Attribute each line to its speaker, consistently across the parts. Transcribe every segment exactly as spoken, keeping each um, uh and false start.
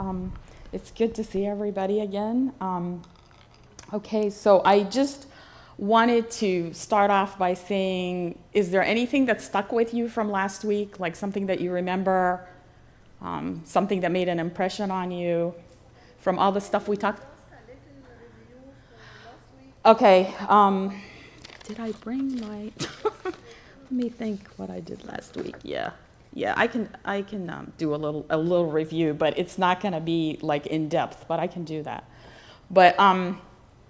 Speaker 1: Um, it's good to see everybody again. Um, okay, so I just wanted to start off by saying, is there anything that stuck with you from last week, like something that you remember, um, something that made an impression on you from all the stuff we talked? Okay, um, did I bring my, let me think what I did last week, yeah. Yeah, I can I can um, do a little a little review, but it's not going to be like in depth. But I can do that. But um,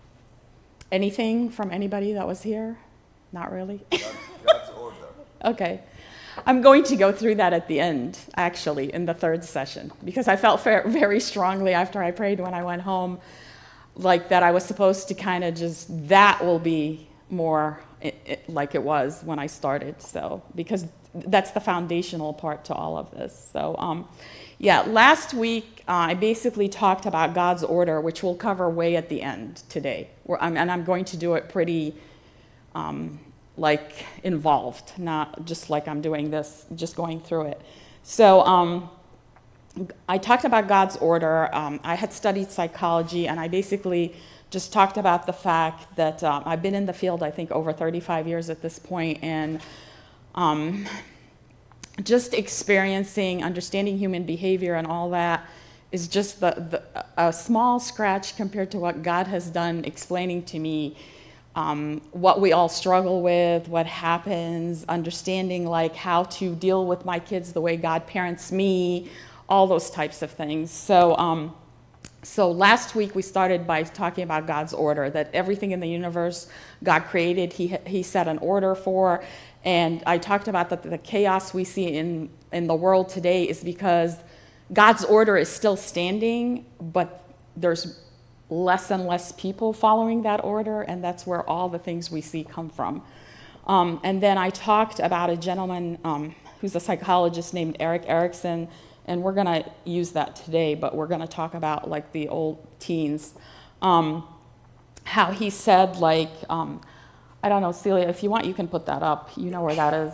Speaker 1: anything from anybody that was here? Not really.
Speaker 2: God's order.
Speaker 1: Okay, I'm going to go through that at the end, actually, in the third session, because I felt very strongly after I prayed when I went home, like that I was supposed to kind of just that will be more it, it, like it was when I started. So because. That's the foundational part to all of this. So, um, yeah, last week uh, I basically talked about God's order, which we'll cover way at the end today. Where I'm, and I'm going to do it pretty, um, like, involved, not just like I'm doing this, just going through it. So, um, I talked about God's order. Um, I had studied psychology, and I basically just talked about the fact that um, I've been in the field, I think, over thirty-five years at this point, and Um, just experiencing, understanding human behavior and all that is just the, the, a small scratch compared to what God has done explaining to me um, what we all struggle with, what happens, understanding like how to deal with my kids the way God parents me, all those types of things. So, um, so last week we started by talking about God's order, that everything in the universe God created, he, he set an order for. And I talked about that the chaos we see in, in the world today is because God's order is still standing, but there's less and less people following that order, and that's where all the things we see come from. Um, and then I talked about a gentleman um, who's a psychologist named Erik Erikson, and we're going to use that today, but we're going to talk about like the old teens. Um, how he said like, um, I don't know, Celia, if you want, you can put that up. You know where that is.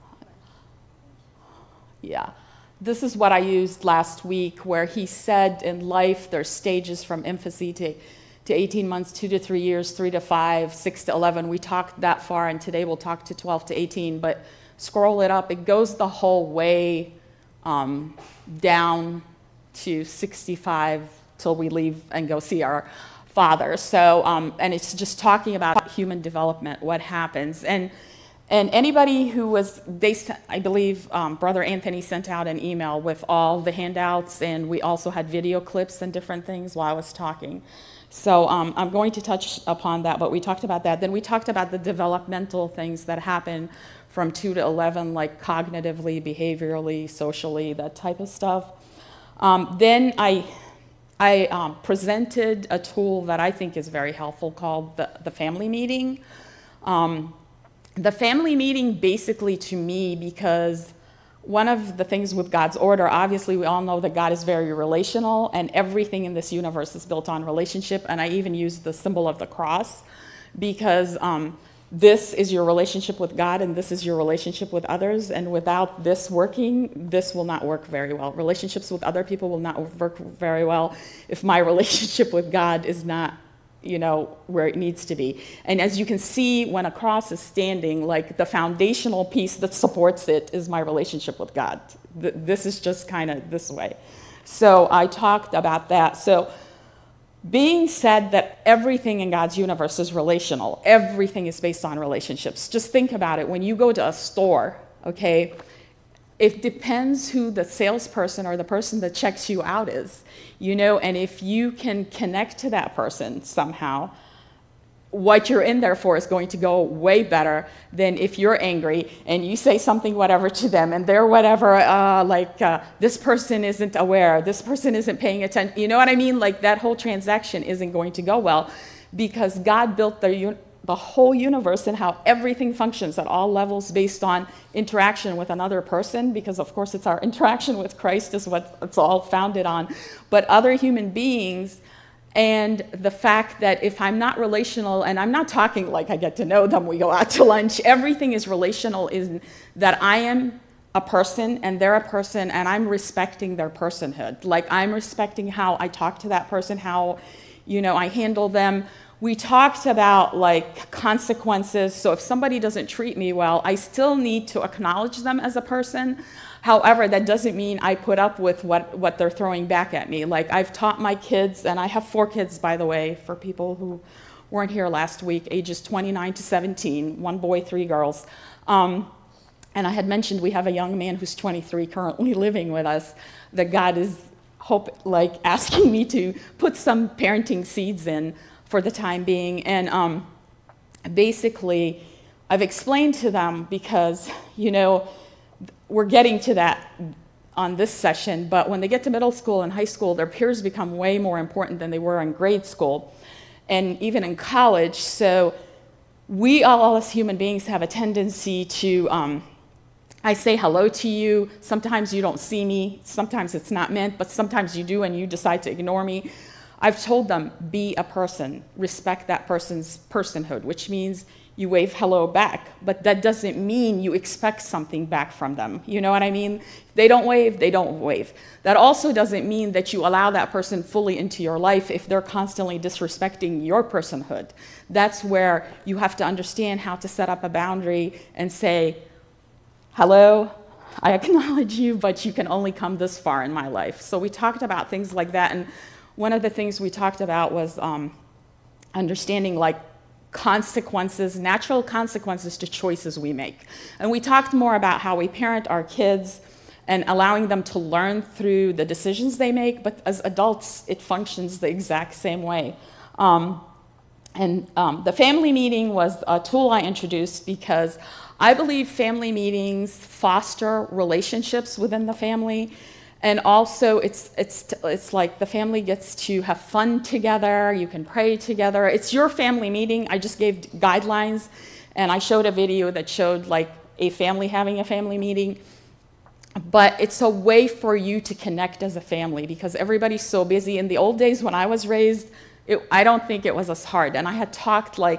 Speaker 1: Yeah. This is what I used last week, where he said in life there's stages from infancy to, to eighteen months, two to three years, three to five, six to eleven. We talked that far, and today we'll talk to twelve to eighteen, but scroll it up. It goes the whole way um, down to sixty-five till we leave and go see our Father. So, um, and it's just talking about human development, what happens. And and anybody who was, they, I believe um, Brother Anthony sent out an email with all the handouts, and we also had video clips and different things while I was talking. So um, I'm going to touch upon that, but we talked about that. Then we talked about the developmental things that happen from two to eleven, like cognitively, behaviorally, socially, that type of stuff. Um, then I... I um, presented a tool that I think is very helpful called the, the family meeting. Um, the family meeting basically to me, because one of the things with God's order, obviously we all know that God is very relational and everything in this universe is built on relationship, and I even use the symbol of the cross because um, this is your relationship with God and this is your relationship with others, and without this working, this will not work very well. Relationships with other people will not work very well if my relationship with God is not, you know, where it needs to be. And as you can see, when a cross is standing, like the foundational piece that supports it is my relationship with God. This is just kind of this way. So I talked about that. So being said that everything in God's universe is relational, everything is based on relationships. Just think about it. When you go to a store, okay, it depends who the salesperson or the person that checks you out is, you know, and if you can connect to that person somehow, what you're in there for is going to go way better than if you're angry and you say something whatever to them and they're whatever, uh, like uh, this person isn't aware, this person isn't paying attention. You know what I mean? Like that whole transaction isn't going to go well because God built the, the whole universe and how everything functions at all levels based on interaction with another person, because of course it's our interaction with Christ is what it's all founded on, but other human beings. And the fact that if I'm not relational, and I'm not talking like I get to know them, we go out to lunch, everything is relational, is that I am a person and they're a person and I'm respecting their personhood. Like I'm respecting how I talk to that person, how, you know, I handle them. We talked about like consequences. So if somebody doesn't treat me well, I still need to acknowledge them as a person. However, that doesn't mean I put up with what, what they're throwing back at me. Like I've taught my kids, and I have four kids, by the way, for people who weren't here last week, ages twenty-nine to seventeen, one boy, three girls. Um, And I had mentioned we have a young man who's twenty-three currently living with us that God is hope, like asking me to put some parenting seeds in for the time being. And um, basically, I've explained to them because, you know, we're getting to that on this session, but when they get to middle school and high school, their peers become way more important than they were in grade school and even in college. So we all as human beings have a tendency to um, I say hello to you. Sometimes you don't see me. Sometimes it's not meant, but sometimes you do and you decide to ignore me. I've told them, be a person. Respect that person's personhood, which means you wave hello back. But that doesn't mean you expect something back from them. You know what I mean? If they don't wave, they don't wave. That also doesn't mean that you allow that person fully into your life if they're constantly disrespecting your personhood. That's where you have to understand how to set up a boundary and say, hello, I acknowledge you, but you can only come this far in my life. So we talked about things like that, and one of the things we talked about was um, understanding like consequences, natural consequences to choices we make. And we talked more about how we parent our kids and allowing them to learn through the decisions they make, but as adults, it functions the exact same way. Um, and um, the family meeting was a tool I introduced because I believe family meetings foster relationships within the family, and also it's, it's, it's like the family gets to have fun together, you can pray together. It's your family meeting. I just gave guidelines, and I showed a video that showed like a family having a family meeting, but it's a way for you to connect as a family because everybody's so busy. In the old days when I was raised, it, I don't think it was as hard, and I had talked like,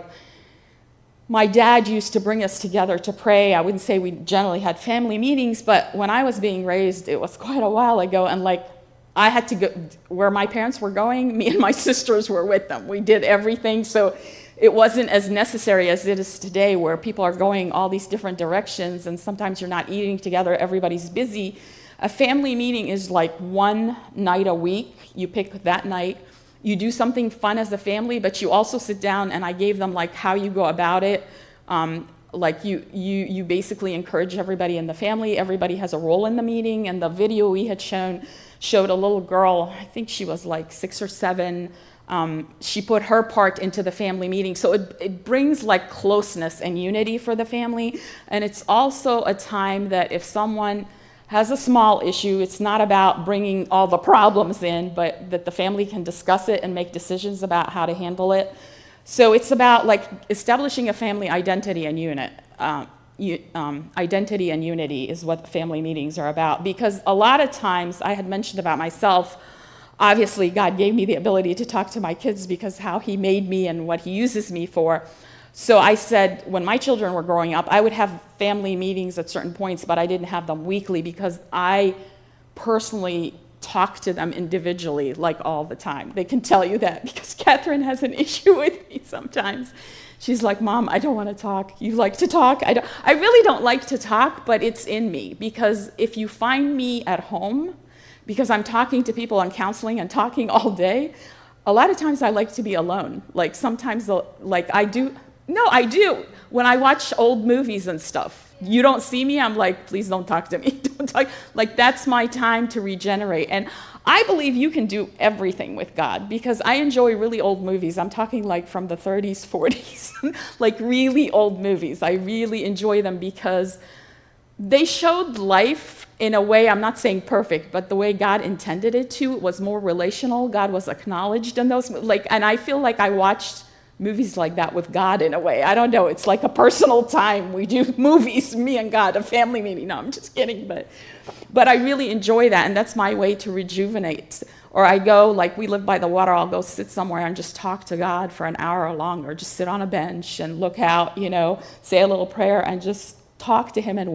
Speaker 1: my dad used to bring us together to pray. I wouldn't say we generally had family meetings, but when I was being raised, it was quite a while ago, and like I had to go where my parents were going, me and my sisters were with them. We did everything, so it wasn't as necessary as it is today where people are going all these different directions and sometimes you're not eating together, everybody's busy. A family meeting is like one night a week. You pick that night. You do something fun as a family, but you also sit down, and I gave them like how you go about it. Um, like you, you, you basically encourage everybody in the family. Everybody has a role in the meeting, and the video we had shown showed a little girl, I think she was like six or seven. Um, she put her part into the family meeting. So it, it brings like closeness and unity for the family. And it's also a time that if someone has a small issue, it's not about bringing all the problems in, but that the family can discuss it and make decisions about how to handle it. So it's about like establishing a family identity and unit. Uh, you, um, identity and unity is what family meetings are about, because a lot of times, I had mentioned about myself, obviously God gave me the ability to talk to my kids because how he made me and what he uses me for. So I said, when my children were growing up, I would have family meetings at certain points, but I didn't have them weekly because I personally talk to them individually, like all the time. They can tell you that because Catherine has an issue with me sometimes. She's like, Mom, I don't want to talk. You like to talk? I, don't, I really don't like to talk, but it's in me because if you find me at home, because I'm talking to people and counseling and talking all day, a lot of times I like to be alone. Like sometimes, like I do, no, I do. When I watch old movies and stuff, you don't see me, I'm like, please don't talk to me. Don't talk. Like that's my time to regenerate. And I believe you can do everything with God because I enjoy really old movies. I'm talking like from the thirties, forties, like really old movies. I really enjoy them because they showed life in a way, I'm not saying perfect, but the way God intended it to. It was more relational. God was acknowledged in those, like, and I feel like I watched movies like that with God in a way. I don't know, it's like a personal time. We do movies, me and God, a family meeting. No, I'm just kidding, but, but I really enjoy that, and that's my way to rejuvenate. Or I go, like we live by the water, I'll go sit somewhere and just talk to God for an hour or longer, just sit on a bench and look out, you know, say a little prayer and just talk to him and wait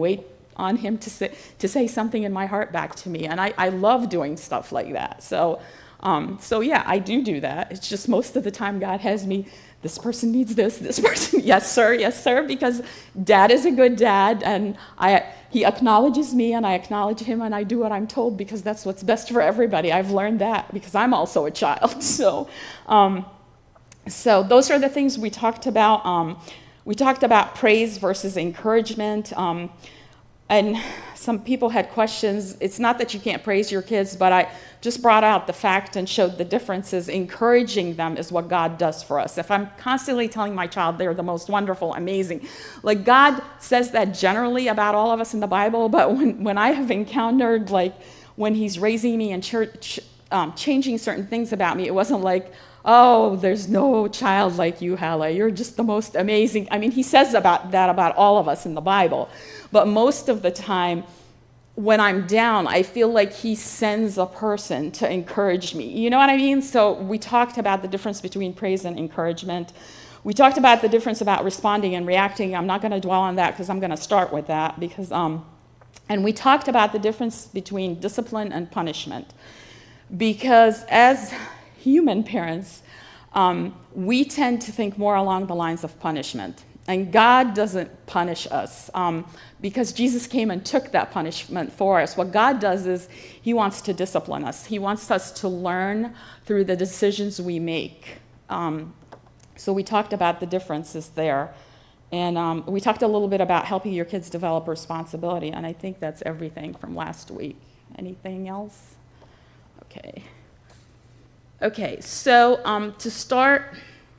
Speaker 1: on him to say, to say something in my heart back to me. And I, I love doing stuff like that. So, um, so yeah, I do do that. It's just most of the time God has me, this person needs this, this person, yes, sir, yes, sir, because dad is a good dad, and I, he acknowledges me, and I acknowledge him, and I do what I'm told because that's what's best for everybody. I've learned that because I'm also a child. So, um, so those are the things we talked about. Um, we talked about praise versus encouragement. Um, And some people had questions. It's not that you can't praise your kids, but I just brought out the fact and showed the differences. Encouraging them is what God does for us. If I'm constantly telling my child they're the most wonderful, amazing, like God says that generally about all of us in the Bible, but when, when I have encountered, like when he's raising me and church, um, changing certain things about me, it wasn't like, oh, there's no child like you, Hala. You're just the most amazing. I mean, he says about that about all of us in the Bible. But most of the time, when I'm down, I feel like he sends a person to encourage me. You know what I mean? So we talked about the difference between praise and encouragement. We talked about the difference about responding and reacting. I'm not going to dwell on that because I'm going to start with that. Because, um, and we talked about the difference between discipline and punishment. Because as human parents, um, we tend to think more along the lines of punishment. And God doesn't punish us um, because Jesus came and took that punishment for us. What God does is he wants to discipline us. He wants us to learn through the decisions we make. Um, so we talked about the differences there. And um, we talked a little bit about helping your kids develop responsibility. And I think that's everything from last week. Anything else? Okay. Okay, so um, to start,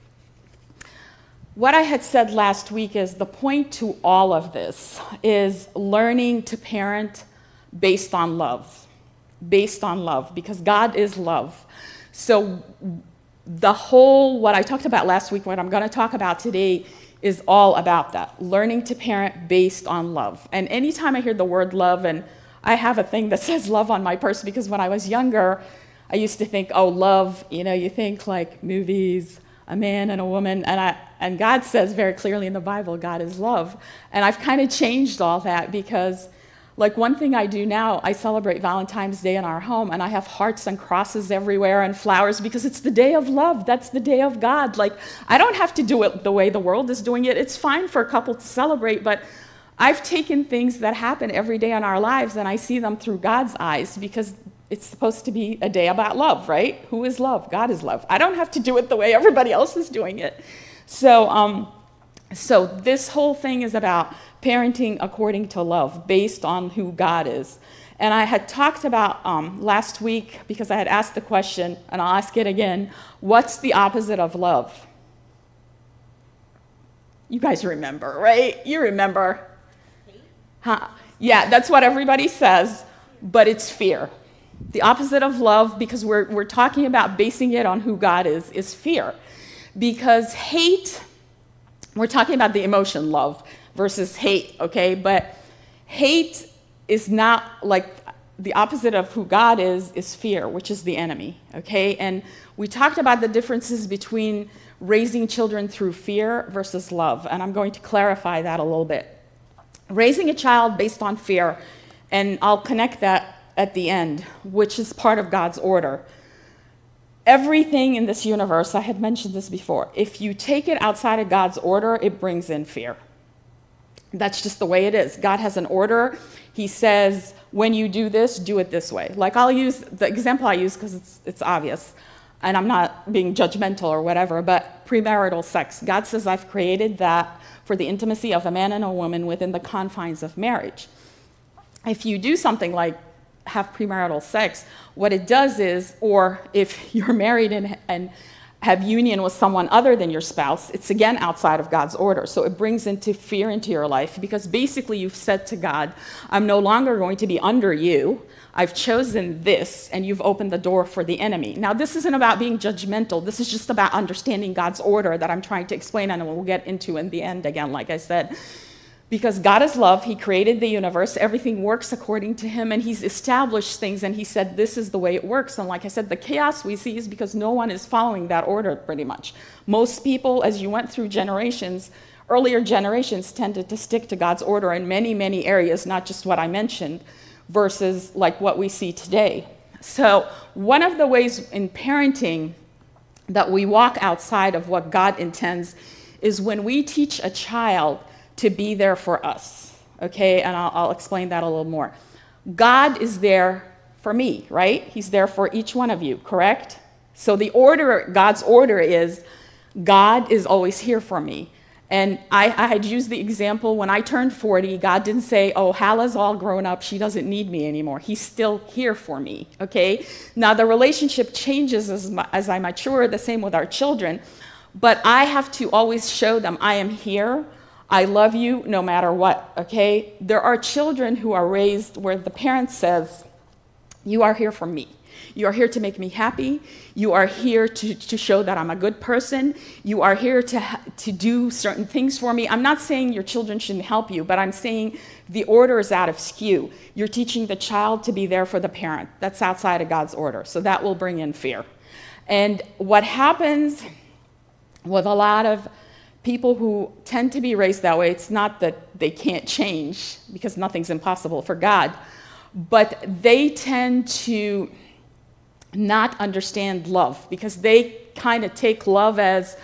Speaker 1: what I had said last week is the point to all of this is learning to parent based on love, based on love, because God is love. So the whole, what I talked about last week, what I'm going to talk about today is all about that, learning to parent based on love. And anytime I hear the word love, and I have a thing that says love on my purse because when I was younger, I used to think, oh, love, you know, you think like movies, a man and a woman, and I and God says very clearly in the Bible, God is love. And I've kind of changed all that because, like, one thing I do now, I celebrate Valentine's Day in our home, and I have hearts and crosses everywhere and flowers because it's the day of love. That's the day of God. Like, I don't have to do it the way the world is doing it. It's fine for a couple to celebrate, but I've taken things that happen every day in our lives, and I see them through God's eyes because it's supposed to be a day about love, right? Who is love? God is love. I don't have to do it the way everybody else is doing it. So, um, so this whole thing is about parenting according to love, based on who God is. And I had talked about um, last week, because I had asked the question, and I'll ask it again, what's the opposite of love? You guys remember, right? You remember. Huh? Yeah, that's what everybody says, but it's fear. The opposite of love, because we're, we're talking about basing it on who God is, is fear. Because hate, we're talking about the emotion love versus hate, okay? But hate is not like the opposite of who God is, is fear, which is the enemy, okay? And we talked about the differences between raising children through fear versus love, and I'm going to clarify that a little bit. Raising a child based on fear, and I'll connect that at the end, which is part of God's order. Everything in this universe, I had mentioned this before, if you take it outside of God's order, it brings in fear. That's just the way it is. God has an order. He says, when you do this, do it this way. Like, I'll use the example I use because it's, it's obvious, and I'm not being judgmental or whatever, but premarital sex. God says, I've created that for the intimacy of a man and a woman within the confines of marriage. If you do something like have premarital sex, what it does is, or if you're married and, and have union with someone other than your spouse, it's again outside of God's order. So it brings into fear into your life because basically you've said to God, I'm no longer going to be under you. I've chosen this, and you've opened the door for the enemy. Now, this isn't about being judgmental. This is just about understanding God's order that I'm trying to explain, and we'll get into in the end again, like I said. Because God is love, he created the universe, everything works according to him, and he's established things, and he said this is the way it works. And like I said, the chaos we see is because no one is following that order pretty much. Most people, as you went through generations, earlier generations tended to stick to God's order in many, many areas, not just what I mentioned, versus like what we see today. So one of the ways in parenting that we walk outside of what God intends is when we teach a child to be there for us, okay? And I'll, I'll explain that a little more. God is there for me, right? He's there for each one of you, correct? So the order, God's order is, God is always here for me. And I, I had used the example when I turned forty, God didn't say, oh, Hala's all grown up, she doesn't need me anymore. He's still here for me, okay? Now the relationship changes as, as I mature, the same with our children, but I have to always show them I am here, I love you no matter what, okay? There are children who are raised where the parent says, you are here for me. You are here to make me happy. You are here to, to show that I'm a good person. You are here to, to do certain things for me. I'm not saying your children shouldn't help you, but I'm saying the order is out of skew. You're teaching the child to be there for the parent. That's outside of God's order. So that will bring in fear. And what happens with a lot of people who tend to be raised that way, it's not that they can't change, because nothing's impossible for God, but they tend to not understand love, because they kind of take love as,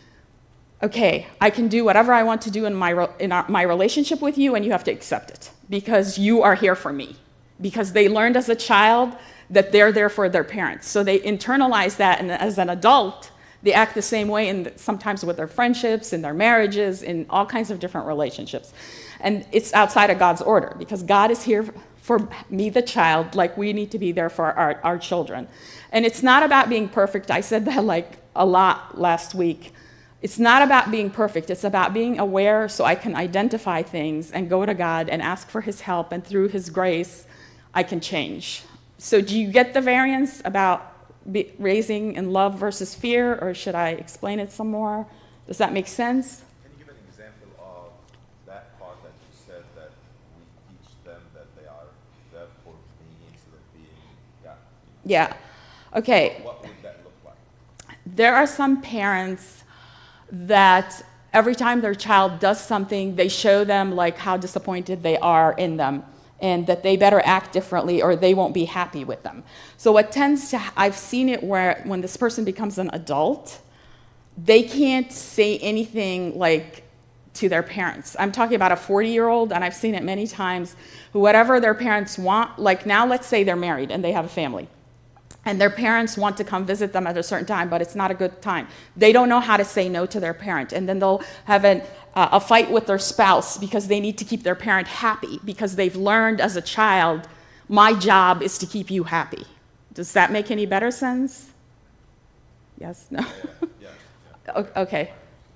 Speaker 1: okay, I can do whatever I want to do in my, in our, my relationship with you, and you have to accept it because you are here for me. Because they learned as a child that they're there for their parents. So they internalize that, and as an adult, they act the same way, and sometimes with their friendships, in their marriages, in all kinds of different relationships. And it's outside of God's order, because God is here for me, the child, like we need to be there for our, our children. And it's not about being perfect. I said that like a lot last week. It's not about being perfect. It's about being aware so I can identify things and go to God and ask for his help, and through his grace, I can change. So do you get the variance about be raising in love versus fear, or should I explain it some more? Does that make sense?
Speaker 2: Can you give an example of that part that you said, that we teach them that they are there for me instead of being, yeah?
Speaker 1: Yeah. Okay.
Speaker 2: What would that look like?
Speaker 1: There are some parents that every time their child does something, they show them like how disappointed they are in them, and that they better act differently or they won't be happy with them. So what tends to, I've seen it where when this person becomes an adult, they can't say anything like to their parents. I'm talking about a forty-year-old, and I've seen it many times, who whatever their parents want, like now let's say they're married and they have a family, and their parents want to come visit them at a certain time, but it's not a good time. They don't know how to say no to their parent, and then they'll have an Uh, a fight with their spouse because they need to keep their parent happy, because they've learned as a child, my job is to keep you happy. Does that make any better sense? Yes? No?
Speaker 2: Yeah, yeah, yeah.
Speaker 1: Okay.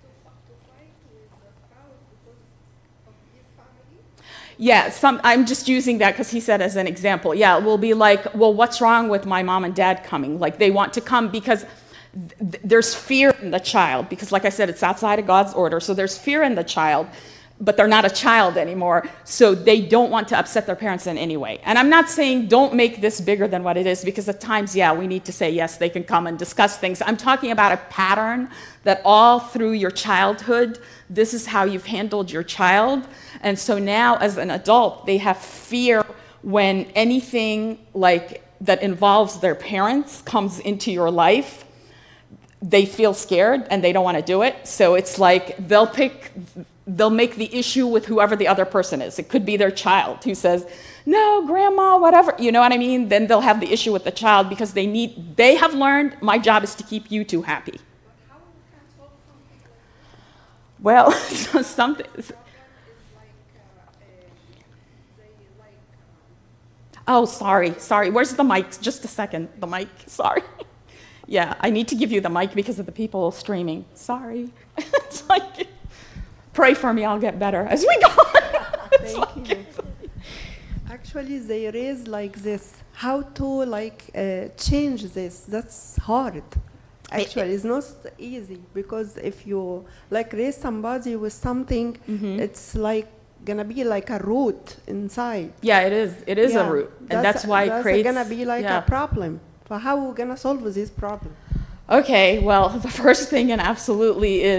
Speaker 1: Yeah, some, I'm just using that because he said as an example. Yeah, it will be like, well, what's wrong with my mom and dad coming? Like they want to come because th there's fear in the child, because like I said, it's outside of God's order. So there's fear in the child, but they're not a child anymore. So they don't want to upset their parents in any way. And I'm not saying don't make this bigger than what it is, because at times, yeah, we need to say, yes, they can come and discuss things. I'm talking about a pattern that all through your childhood, this is how you've handled your child. And so now as an adult, they have fear when anything like that involves their parents comes into your life. They feel scared and they don't want to do it. So it's like they'll pick, they'll make the issue with whoever the other person is. It could be their child who says, no, grandma, whatever, you know what I mean? Then they'll have the issue with the child because they need, they have learned my job is to keep you two happy.
Speaker 3: But how we can solve something like that?
Speaker 1: Well, something.
Speaker 3: Is like, uh, uh, they like, um,
Speaker 1: Oh, sorry, sorry. Where's the mic? Just a second, the mic, sorry. Yeah, I need to give you the mic because of the people streaming. Sorry. It's like, pray for me, I'll get better as we go on.
Speaker 4: Thank you. Actually, they raise like this. How to like uh, change this? That's hard. Actually, it's not easy, because if you like raise somebody with something, mm-hmm. it's like gonna be like a root inside.
Speaker 1: Yeah, it is. It is
Speaker 4: yeah.
Speaker 1: a root, and that's,
Speaker 4: that's
Speaker 1: why
Speaker 4: that's
Speaker 1: it creates.
Speaker 4: gonna be like
Speaker 1: yeah.
Speaker 4: a problem. But how are we gonna solve this problem?
Speaker 1: Okay, well, the first thing, and absolutely, is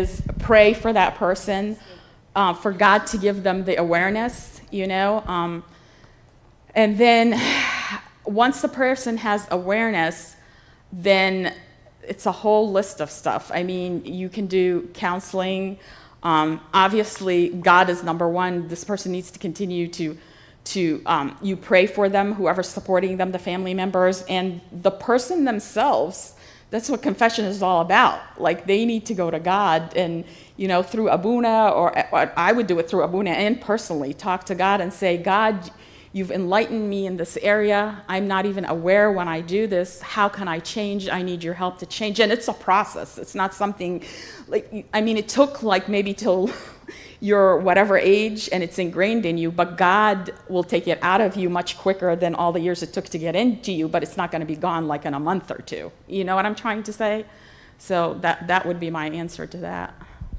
Speaker 1: pray for that person, uh, for God to give them the awareness, you know. Um, and then once the person has awareness, then it's a whole list of stuff. I mean, you can do counseling. Um, obviously, God is number one. This person needs to continue to, to um, you pray for them, whoever's supporting them, the family members, and the person themselves. That's what confession is all about. Like, they need to go to God and, you know, through Abuna, or, or I would do it through Abuna and personally, talk to God and say, God, you've enlightened me in this area. I'm not even aware when I do this. How can I change? I need your help to change. And it's a process. It's not something like, I mean, it took like maybe till you're whatever age and it's ingrained in you, but God will take it out of you much quicker than all the years it took to get into you, but it's not going to be gone like in a month or two. You know what I'm trying to say? So that, that would be my answer to that.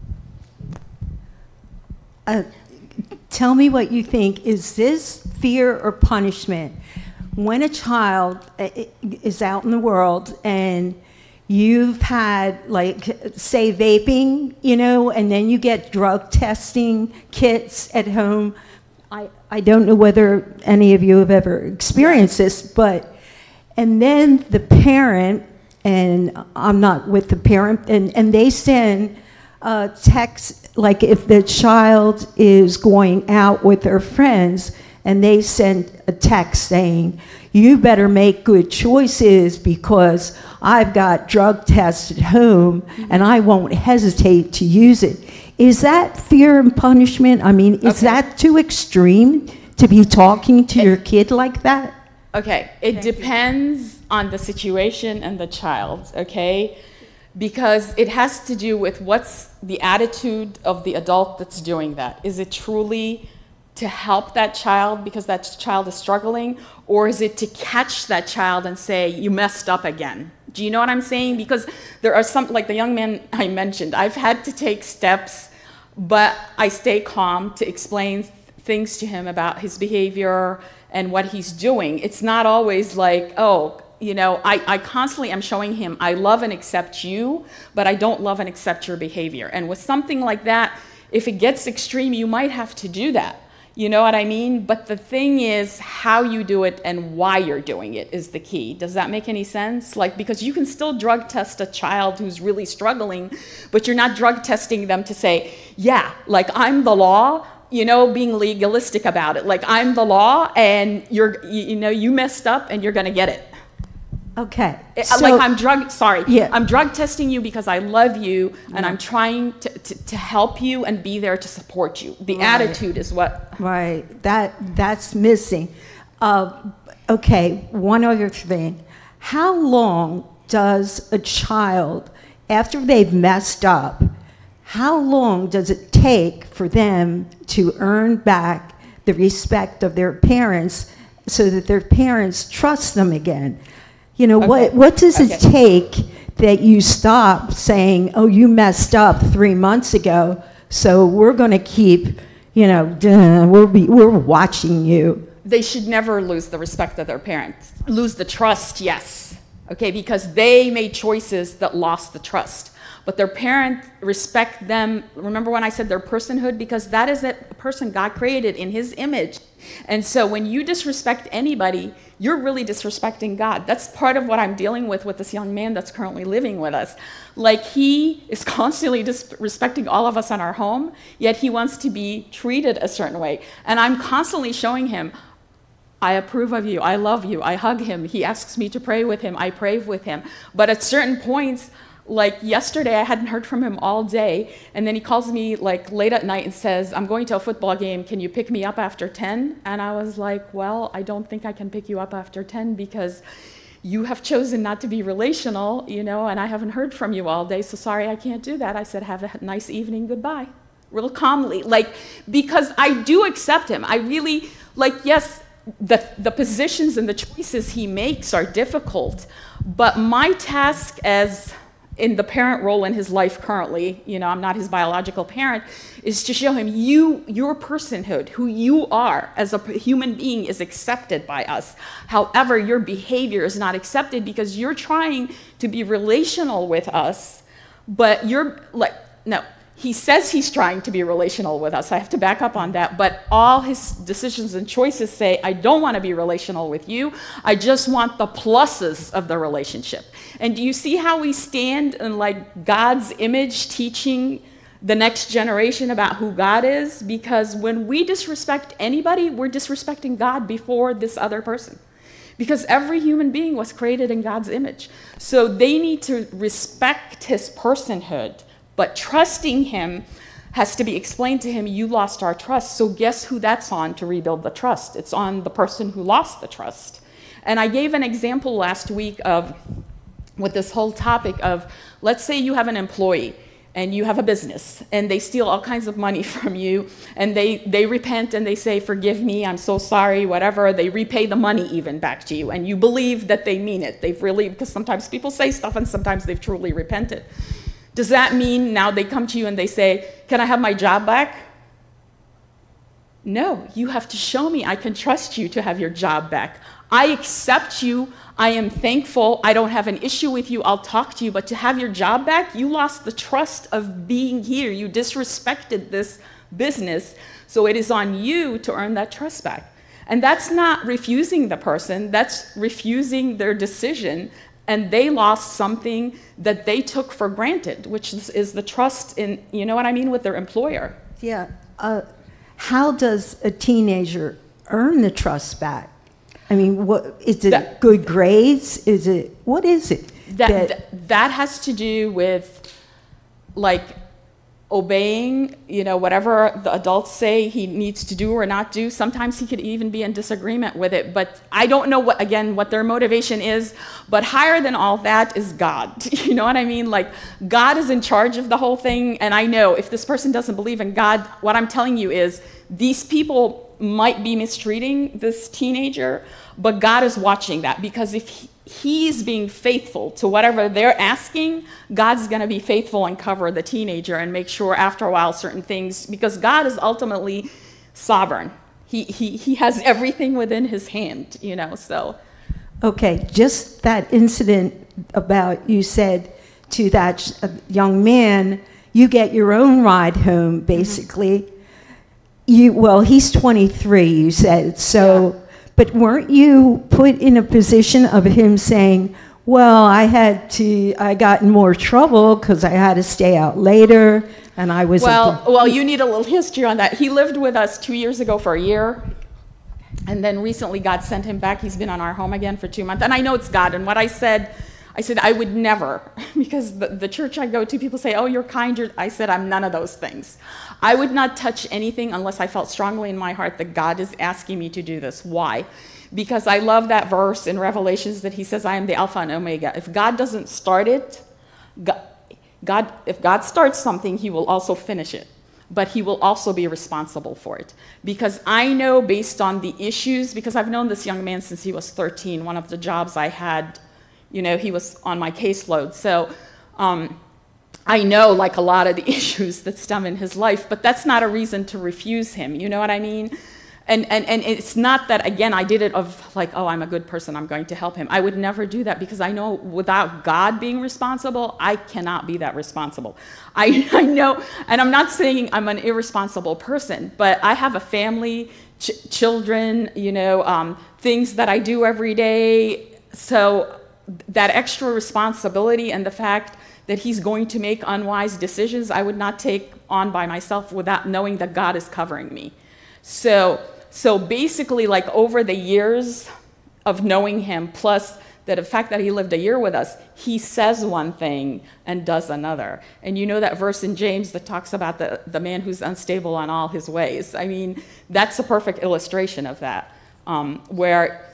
Speaker 5: Uh, tell me what you think. Is this fear or punishment? When a child is out in the world and you've had, like, say, vaping, you know, and then you get drug testing kits at home. I, I don't know whether any of you have ever experienced this, but, and then the parent, and I'm not with the parent, and, and they send uh, text, like if the child is going out with their friends, and they send a text saying, you better make good choices because I've got drug tests at home and I won't hesitate to use it. Is that fear and punishment? I mean, is
Speaker 1: Okay.
Speaker 5: that too extreme to be talking to your kid like that?
Speaker 1: Okay, it depends on the situation and the child, okay? Because it has to do with what's the attitude of the adult that's doing that. Is it truly to help that child because that child is struggling, or is it to catch that child and say, you messed up again? Do you know what I'm saying? Because there are some, like the young man I mentioned, I've had to take steps, but I stay calm to explain things to him about his behavior and what he's doing. It's not always like, oh, you know, I, I constantly am showing him, I love and accept you, but I don't love and accept your behavior. And with something like that, if it gets extreme, you might have to do that. You know what I mean? But the thing is, how you do it and why you're doing it is the key. Does that make any sense? Like, because you can still drug test a child who's really struggling, but you're not drug testing them to say, yeah, like I'm the law, you know, being legalistic about it. Like I'm the law and you're, you, you know, you messed up and you're gonna get it.
Speaker 5: Okay.
Speaker 1: It,
Speaker 5: so,
Speaker 1: like I'm drug, sorry,
Speaker 5: Yeah.
Speaker 1: I'm drug testing you because I love you and
Speaker 5: Yeah.
Speaker 1: I'm trying to, to, to help you and be there to support you. The
Speaker 5: Right.
Speaker 1: attitude is what.
Speaker 5: Right, that, that's missing. Uh, okay, one other thing. How long does a child, after they've messed up, how long does it take for them to earn back the respect of their parents so that their parents trust them again? You know,
Speaker 1: Okay.
Speaker 5: what, what does it
Speaker 1: Okay.
Speaker 5: take that you stop saying, oh, you messed up three months ago, so we're going to keep, you know, duh, we'll be, we're watching you.
Speaker 1: They should never lose the respect of their parents. Lose the trust, yes. Okay, because they made choices that lost the trust. But their parents respect them. Remember when I said their personhood? Because that is a person God created in his image. And so when you disrespect anybody, you're really disrespecting God. That's part of what I'm dealing with with this young man that's currently living with us. Like, he is constantly disrespecting all of us in our home, yet he wants to be treated a certain way. And I'm constantly showing him, I approve of you, I love you, I hug him. He asks me to pray with him, I pray with him. But at certain points, like yesterday, I hadn't heard from him all day, and then he calls me like late at night and says, I'm going to a football game, can you pick me up after ten? And I was like, well, I don't think I can pick you up after ten because you have chosen not to be relational, you know, and I haven't heard from you all day, so sorry, I can't do that. I said, have a nice evening, goodbye. Real calmly, like, because I do accept him. I really, like, yes, the, the positions and the choices he makes are difficult, but my task as in the parent role in his life currently, you know, I'm not his biological parent, is to show him you, your personhood, who you are as a human being is accepted by us. However, your behavior is not accepted because you're trying to be relational with us, but you're like, no, he says he's trying to be relational with us. I have to back up on that. But all his decisions and choices say, I don't want to be relational with you. I just want the pluses of the relationship. And do you see how we stand in like God's image, teaching the next generation about who God is? Because when we disrespect anybody, we're disrespecting God before this other person. Because every human being was created in God's image. So they need to respect his personhood. But trusting him has to be explained to him, you lost our trust. So guess who that's on to rebuild the trust? It's on the person who lost the trust. And I gave an example last week of, with this whole topic of, let's say you have an employee and you have a business and they steal all kinds of money from you and they, they repent and they say, forgive me, I'm so sorry, whatever. They repay the money even back to you and you believe that they mean it. They've really, because sometimes people say stuff and sometimes they've truly repented. Does that mean now they come to you and they say, can I have my job back? No, you have to show me I can trust you to have your job back. I accept you. I am thankful. I don't have an issue with you. I'll talk to you. But to have your job back, you lost the trust of being here. You disrespected this business. So it is on you to earn that trust back. And that's not refusing the person. That's refusing their decision. And they lost something that they took for granted, which is, is the trust in, you know what I mean, with their employer.
Speaker 5: Yeah. Uh, how does a teenager earn the trust back? I mean, what is it?
Speaker 1: That,
Speaker 5: good grades? Is it, what is it?
Speaker 1: That,
Speaker 5: that,
Speaker 1: that, that has to do with, like, obeying, you know, whatever the adults say he needs to do or not do. Sometimes he could even be in disagreement with it, but I don't know what, again, what their motivation is, but higher than all that is God. You know what I mean? Like, God is in charge of the whole thing, and I know if this person doesn't believe in God, what I'm telling you is these people might be mistreating this teenager, but God is watching that, because if he, he's being faithful to whatever they're asking, God's going to be faithful and cover the teenager and make sure after a while certain things, because God is ultimately sovereign. He, he, he has everything within his hand, you know, so.
Speaker 5: Okay, just that incident about you said to that young man, you get your own ride home, basically. Mm-hmm. You, well, he's twenty-three, you said, so, yeah. But weren't you put in a position of him saying, well, I had to, I got in more trouble because I had to stay out later, and I was...
Speaker 1: Well, well, you need a little history on that. He lived with us two years ago for a year, and then recently God sent him back. He's been on our home again for two months, and I know it's God, and what I said, I said, I would never, because the, the church I go to, people say, oh, you're kind. You're, I said, I'm none of those things. I would not touch anything unless I felt strongly in my heart that God is asking me to do this. Why? Because I love that verse in Revelations that he says, I am the Alpha and Omega. If God doesn't start it, God, God, if God starts something, he will also finish it. But he will also be responsible for it. Because I know based on the issues, because I've known this young man since he was thirteen, one of the jobs I had, you know, he was on my caseload. So um, I know like a lot of the issues that stem in his life, but that's not a reason to refuse him. You know what I mean? And, and, and it's not that, again, I did it of like, oh, I'm a good person, I'm going to help him. I would never do that because I know without God being responsible, I cannot be that responsible. I, I know, and I'm not saying I'm an irresponsible person, but I have a family, ch children, you know, um, things that I do every day. So that extra responsibility and the fact that he's going to make unwise decisions, I would not take on by myself without knowing that God is covering me. So, so basically, like over the years of knowing him, plus that the fact that he lived a year with us, he says one thing and does another. And you know that verse in James that talks about the, the man who's unstable on all his ways. I mean, that's a perfect illustration of that, um, where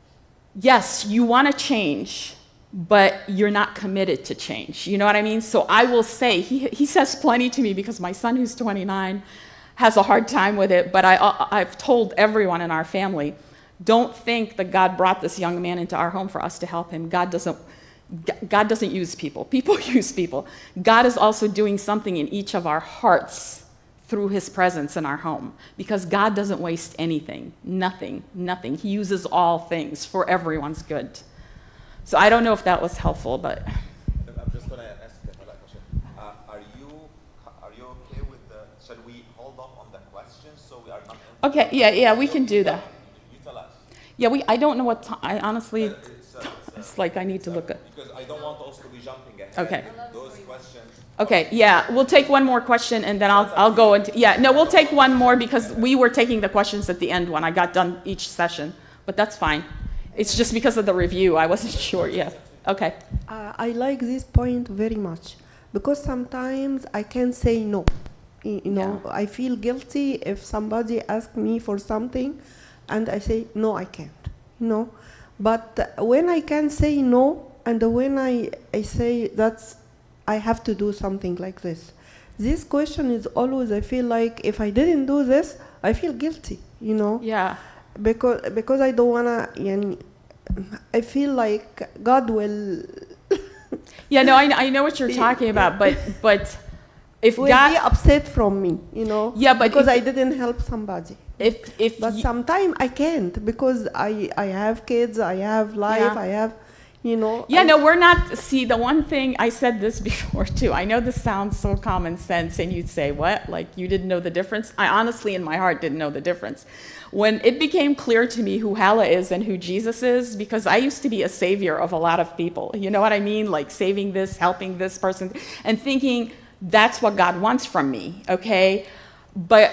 Speaker 1: yes, you want to change, but you're not committed to change. You know what I mean? So I will say, he, he says plenty to me because my son who's twenty-nine has a hard time with it, but I, I've told everyone in our family, don't think that God brought this young man into our home for us to help him. God doesn't, God doesn't use people. People use people. God is also doing something in each of our hearts through his presence in our home, because God doesn't waste anything, nothing, nothing. He uses all things for everyone's good. So I don't know if that was helpful, but.
Speaker 2: I'm just going to ask another question. Uh, are you are you okay shall we hold off on the questions so we are not?
Speaker 1: Okay, yeah, yeah, we can do that.
Speaker 2: You tell us.
Speaker 1: Yeah, we, I don't know what time, I honestly,
Speaker 2: Uh, it's, uh, it's, uh,
Speaker 1: it's like I need to look at.
Speaker 2: Because I don't want us to be jumping ahead.
Speaker 1: Okay.
Speaker 2: Those questions.
Speaker 1: Okay, yeah, we'll take one more question and then I'll, I'll go into, yeah, no, we'll take one more because we were taking the questions at the end when I got done each session, but that's fine. It's just because of the review, I wasn't sure, yeah. Okay,
Speaker 4: Uh, I like this point very much because sometimes I can say no. Y- You know, I feel guilty if somebody asks me for something and I say, no, I can't. You know, but uh, when I can say no and when I, I say that's, I have to do something like this. This question is always, I feel like if I didn't do this, I feel guilty, you know?
Speaker 1: yeah,
Speaker 4: Because, because I don't wanna, yani, I feel like God will
Speaker 1: yeah, no, I, I know what you're talking about, but, but if
Speaker 4: will be
Speaker 1: God,
Speaker 4: upset from me, you know?
Speaker 1: Yeah, but
Speaker 4: because
Speaker 1: if-
Speaker 4: I didn't help somebody.
Speaker 1: if, if,
Speaker 4: But
Speaker 1: you-
Speaker 4: sometimes I can't because I, I have kids, I have life,
Speaker 1: Yeah.
Speaker 4: I have, you know.
Speaker 1: yeah,
Speaker 4: I-
Speaker 1: no, we're not, see, the one thing, I said this before too, I know this sounds so common sense and you'd say, what, like you didn't know the difference? I honestly in my heart didn't know the difference. When it became clear to me who Hala is and who Jesus is, because I used to be a savior of a lot of people, you know what I mean? Like saving this, helping this person, and thinking that's what God wants from me, okay? But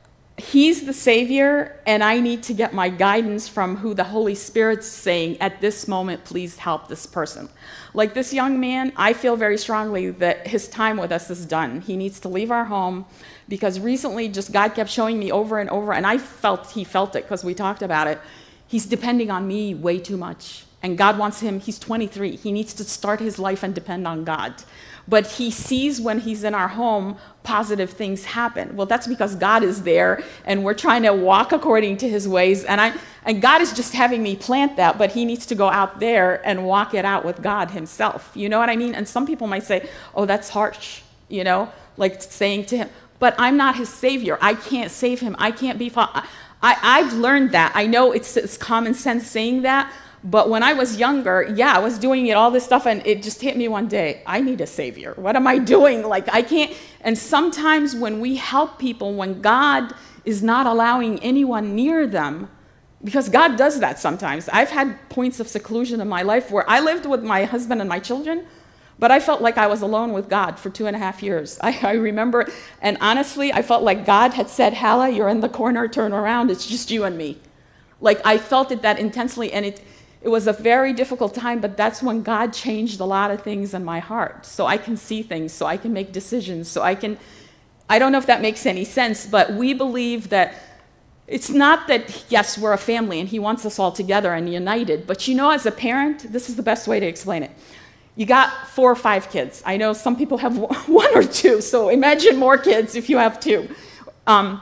Speaker 1: He's the Savior, and I need to get my guidance from who the Holy Spirit's saying, at this moment, please help this person. Like this young man, I feel very strongly that his time with us is done. He needs to leave our home because recently just God kept showing me over and over, and I felt he felt it because we talked about it. He's depending on me way too much. And God wants him, he's twenty-three. He needs to start his life and depend on God. But he sees when he's in our home, positive things happen. Well, that's because God is there and we're trying to walk according to his ways. And I and God is just having me plant that, but he needs to go out there and walk it out with God himself. You know what I mean? And some people might say, oh, that's harsh, you know, like saying to him, but I'm not his savior. I can't save him. I can't be, I, I've learned that. I know it's, it's common sense saying that. But when I was younger, yeah, I was doing it, all this stuff, and it just hit me one day. I need a savior. What am I doing? Like, I can't. And sometimes when we help people, when God is not allowing anyone near them, because God does that sometimes. I've had points of seclusion in my life where I lived with my husband and my children, but I felt like I was alone with God for two and a half years. I, I remember, and honestly, I felt like God had said, Hala, you're in the corner, turn around, it's just you and me. Like, I felt it that intensely, and it, it was a very difficult time, but that's when God changed a lot of things in my heart. So I can see things, so I can make decisions, so I can, I don't know if that makes any sense, but we believe that it's not that, yes, we're a family and he wants us all together and united, but you know, as a parent, this is the best way to explain it. You got four or five kids. I know some people have one or two, so imagine more kids if you have two. Um,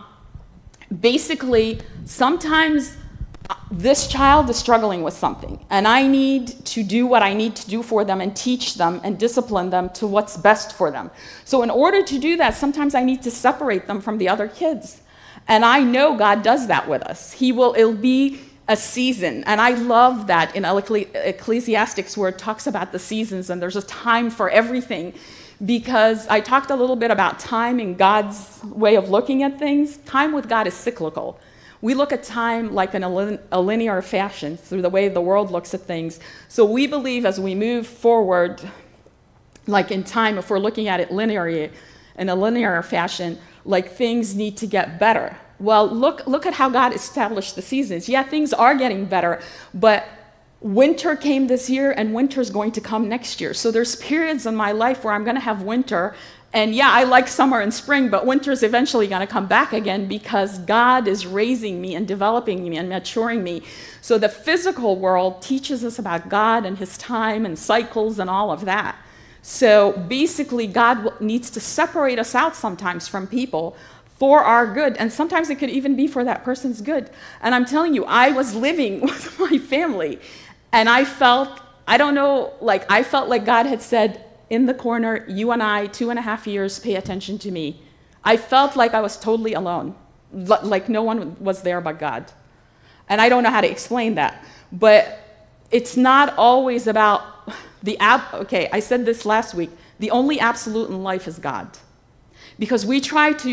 Speaker 1: basically, sometimes this child is struggling with something, and I need to do what I need to do for them and teach them and discipline them to what's best for them. So in order to do that, sometimes I need to separate them from the other kids. And I know God does that with us. He will, it'll be a season. And I love that in Ecclesiastics where it talks about the seasons and there's a time for everything. Because I talked a little bit about time in God's way of looking at things. Time with God is cyclical. We look at time like in a, lin a linear fashion through the way the world looks at things. So we believe as we move forward, like in time, if we're looking at it linearly, in a linear fashion, like things need to get better. Well, look, look at how God established the seasons. Yeah, things are getting better, but winter came this year and winter's going to come next year. So there's periods in my life where I'm going to have winter. And yeah, I like summer and spring, but winter's eventually going to come back again because God is raising me and developing me and maturing me. So the physical world teaches us about God and his time and cycles and all of that. So basically, God needs to separate us out sometimes from people for our good. And sometimes it could even be for that person's good. And I'm telling you, I was living with my family and I felt, I don't know, like I felt like God had said, in the corner, you and I, two and a half years, pay attention to me. I felt like I was totally alone, like no one was there but God. And I don't know how to explain that. But it's not always about the, ab okay, I said this last week, the only absolute in life is God. Because we try to,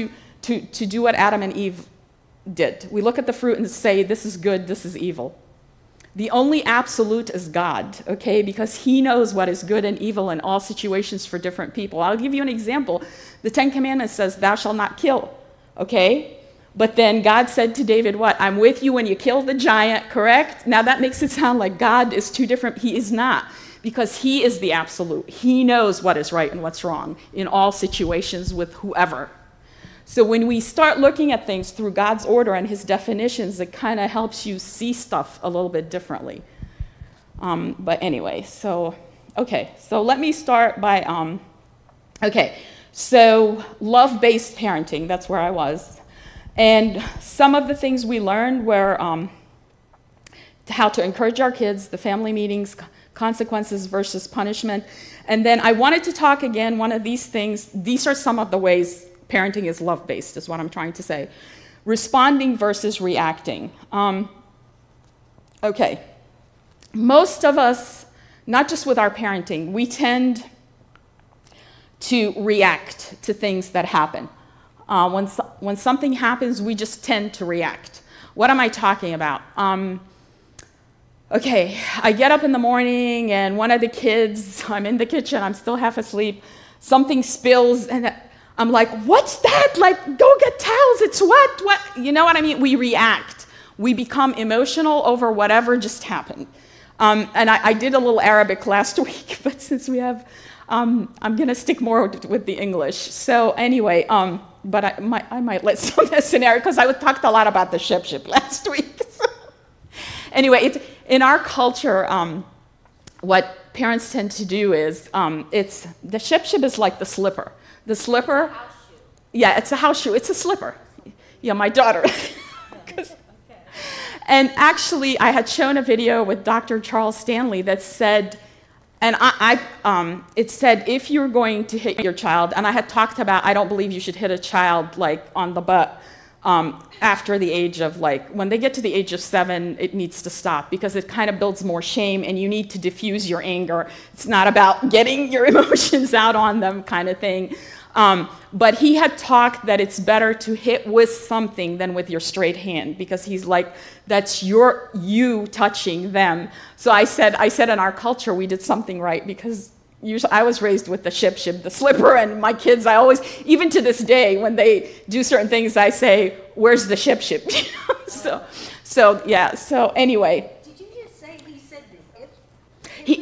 Speaker 1: to, to do what Adam and Eve did. We look at the fruit and say, this is good, this is evil. The only absolute is God, okay? Because he knows what is good and evil in all situations for different people. I'll give you an example. The Ten Commandments says, thou shalt not kill, okay? But then God said to David, what? I'm with you when you kill the giant, correct? Now that makes it sound like God is two different. He is not, because he is the absolute. He knows what is right and what's wrong in all situations with whoever. So when we start looking at things through God's order and his definitions, it kind of helps you see stuff a little bit differently. Um, but anyway, so, okay. So let me start by, um, okay. So love-based parenting, that's where I was. And some of the things we learned were um, how to encourage our kids, the family meetings, consequences versus punishment. And then I wanted to talk again, one of these things, these are some of the ways parenting is love-based, is what I'm trying to say. Responding versus reacting. Um, okay. Most of us, not just with our parenting, we tend to react to things that happen. Uh, when, so, when something happens, we just tend to react. What am I talking about? Um, okay, I get up in the morning and one of the kids, I'm in the kitchen, I'm still half asleep, something spills and I'm like, what's that? Like, go get towels, it's wet, what? You know what I mean? We react. We become emotional over whatever just happened. Um, and I, I did a little Arabic last week, but since we have, um, I'm gonna stick more with, with the English. So anyway, um, but I might, I might let some of the scenario, because I talked a lot about the ship ship last week. So. Anyway, it's, in our culture, um, what parents tend to do is, um, it's, the ship ship is like the slipper. The slipper,
Speaker 3: House shoe.
Speaker 1: yeah, it's a house shoe. It's a slipper. Yeah, my daughter. And actually, I had shown a video with Doctor Charles Stanley that said, and I, I um, it said, if you're going to hit your child, and I had talked about, I don't believe you should hit a child like on the butt um, after the age of like, when they get to the age of seven, it needs to stop because it kind of builds more shame and you need to diffuse your anger. It's not about getting your emotions out on them kind of thing. Um, but he had talked that it's better to hit with something than with your straight hand, because he's like, that's your, you touching them. So I said, I said in our culture, we did something right, because usually I was raised with the ship ship, the slipper, and my kids, I always, even to this day, when they do certain things, I say, where's the ship ship? so, so, yeah, so anyway.
Speaker 3: Did you just say he said the hip?
Speaker 1: He,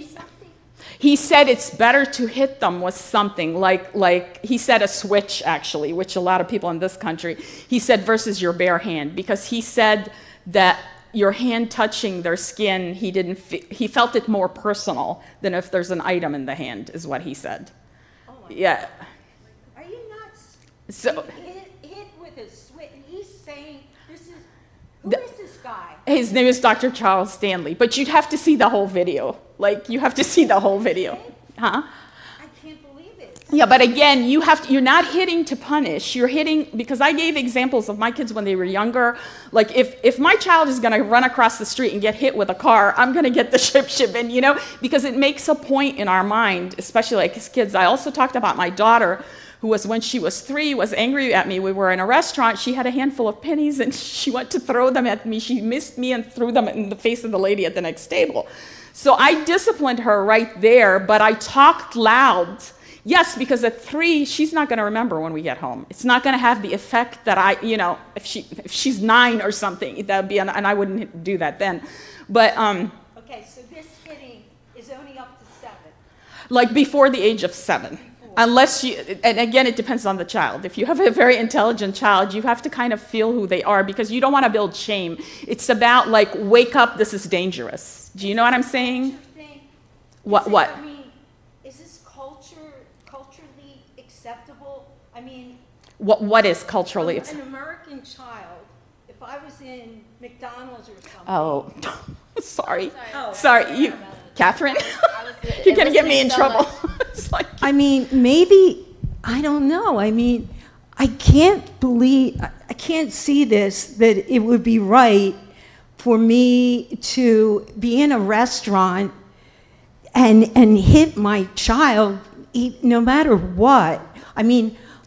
Speaker 1: He said it's better to hit them with something, like, like he said a switch, actually, which a lot of people in this country, he said versus your bare hand, because he said that your hand touching their skin, he, didn't fe- he felt it more personal than if there's an item in the hand, is what he said.
Speaker 3: Oh my
Speaker 1: Yeah.
Speaker 3: God. Are you nuts?
Speaker 1: So,
Speaker 3: Hit, hit with a switch. He's saying, this is, who
Speaker 1: The-
Speaker 3: is this guy?
Speaker 1: his name is Doctor Charles Stanley, but you'd have to see the whole video. Like, you have to see the whole video. Huh?
Speaker 3: I can't believe it.
Speaker 1: Yeah, but again, you have to, you're not hitting to punish. You're hitting, because I gave examples of my kids when they were younger. Like, if, if my child is going to run across the street and get hit with a car, I'm going to get the ship ship in, you know, because it makes a point in our mind, especially like as kids. I also talked about my daughter, who was, when she was three, was angry at me. We were in a restaurant. She had a handful of pennies, and she went to throw them at me. She missed me and threw them in the face of the lady at the next table. So I disciplined her right there, but I talked loud. Yes, because at three, she's not going to remember when we get home. It's not going to have the effect that I, you know, if she if she's nine or something, that would be, an, and I wouldn't do that then. But um,
Speaker 3: Okay, so this hitting is only up to seven.
Speaker 1: like before the age of seven. Unless you, and again, it depends on the child. If you have a very intelligent child, you have to kind of feel who they are, because you don't want to build shame. It's about like, wake up, this is dangerous. Do you know what I'm saying?
Speaker 3: Thing.
Speaker 1: What,
Speaker 3: Is it-
Speaker 1: what?
Speaker 3: I mean, is this culture, culturally acceptable? I mean,
Speaker 1: What, what is culturally?
Speaker 3: an American child, if I was in McDonald's or something.
Speaker 1: Oh, sorry.
Speaker 3: Oh.
Speaker 1: Sorry, you, Catherine?
Speaker 6: it
Speaker 1: You're gonna
Speaker 6: was
Speaker 1: get me in
Speaker 6: so
Speaker 1: trouble.
Speaker 6: much-
Speaker 1: It's like,
Speaker 5: I mean, maybe, I don't know. I mean, I can't believe, I I can't see this, that it would be right for me to be in a restaurant and, and hit my child, e- no matter what. I mean,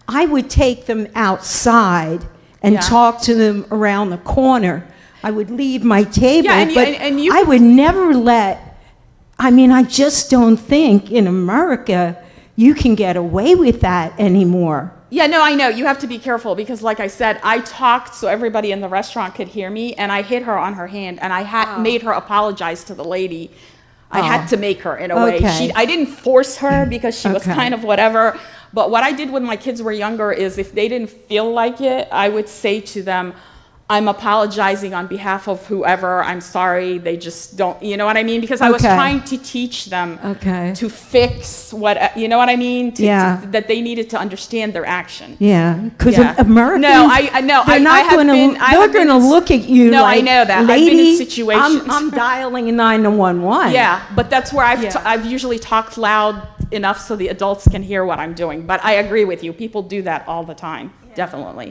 Speaker 5: I would take them outside and
Speaker 1: Yeah.
Speaker 5: talk to them around the corner. I would leave my table,
Speaker 1: Yeah, and you-
Speaker 5: but
Speaker 1: and- and you-
Speaker 5: I would never let, I mean, I just don't think in America you can get away with that anymore.
Speaker 1: Yeah, no, I know. You have to be careful because, like I said, I talked so everybody in the restaurant could hear me, and I hit her on her hand, and I had
Speaker 5: Oh.
Speaker 1: made her apologize to the lady. I
Speaker 5: Oh.
Speaker 1: had to make her in a way.
Speaker 5: Okay.
Speaker 1: She, I didn't force her because she was
Speaker 5: Okay.
Speaker 1: kind of whatever. But what I did when my kids were younger is if they didn't feel like it, I would say to them, I'm apologizing on behalf of whoever. I'm sorry. They just don't, you know what I mean? Because I was
Speaker 5: Okay.
Speaker 1: trying to teach them
Speaker 5: Okay.
Speaker 1: to fix what, you know what I mean? To,
Speaker 5: Yeah.
Speaker 1: to- that they needed to understand their action.
Speaker 5: Yeah, because
Speaker 1: Yeah.
Speaker 5: Americans,
Speaker 1: No, I- I know.
Speaker 5: they're
Speaker 1: I-
Speaker 5: not
Speaker 1: I have
Speaker 5: going
Speaker 1: been-
Speaker 5: to,
Speaker 1: I
Speaker 5: they're
Speaker 1: have been
Speaker 5: going to
Speaker 1: in-
Speaker 5: look at you
Speaker 1: No, I
Speaker 5: like,
Speaker 1: know that. I've been in
Speaker 5: lady,
Speaker 1: situations-
Speaker 5: I'm, I'm dialing nine one one.
Speaker 1: Yeah, but that's where I've,
Speaker 5: Yeah.
Speaker 1: t- I've usually talked loud enough so the adults can hear what I'm doing. But I agree with you. People do that all the time, definitely.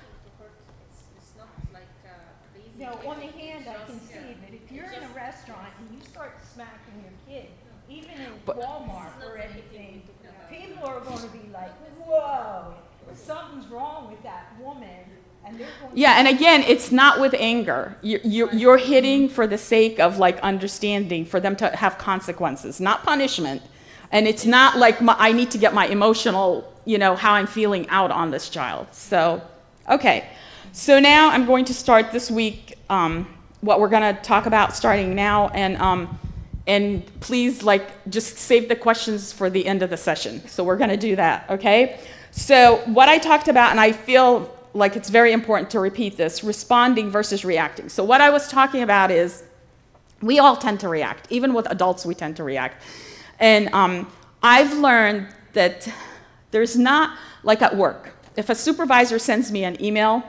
Speaker 3: You know, on the hand, I can see that if you're in a restaurant and you start smacking your kid, even in Walmart or anything, people are going to be like, whoa, something's wrong with that woman. And they're going
Speaker 1: Yeah, and again, it's not with anger. You're, you're, you're hitting for the sake of like understanding, for them to have consequences, not punishment. And it's not like my, I need to get my emotional, you know, how I'm feeling out on this child. So, okay. So now I'm going to start this week um, what we're going to talk about starting now. And, um, and please, like, just save the questions for the end of the session. So we're going to do that, okay? So what I talked about, and I feel like it's very important to repeat this, responding versus reacting. So what I was talking about is we all tend to react. Even with adults, we tend to react. And um, I've learned that there's not, like at work, if a supervisor sends me an email,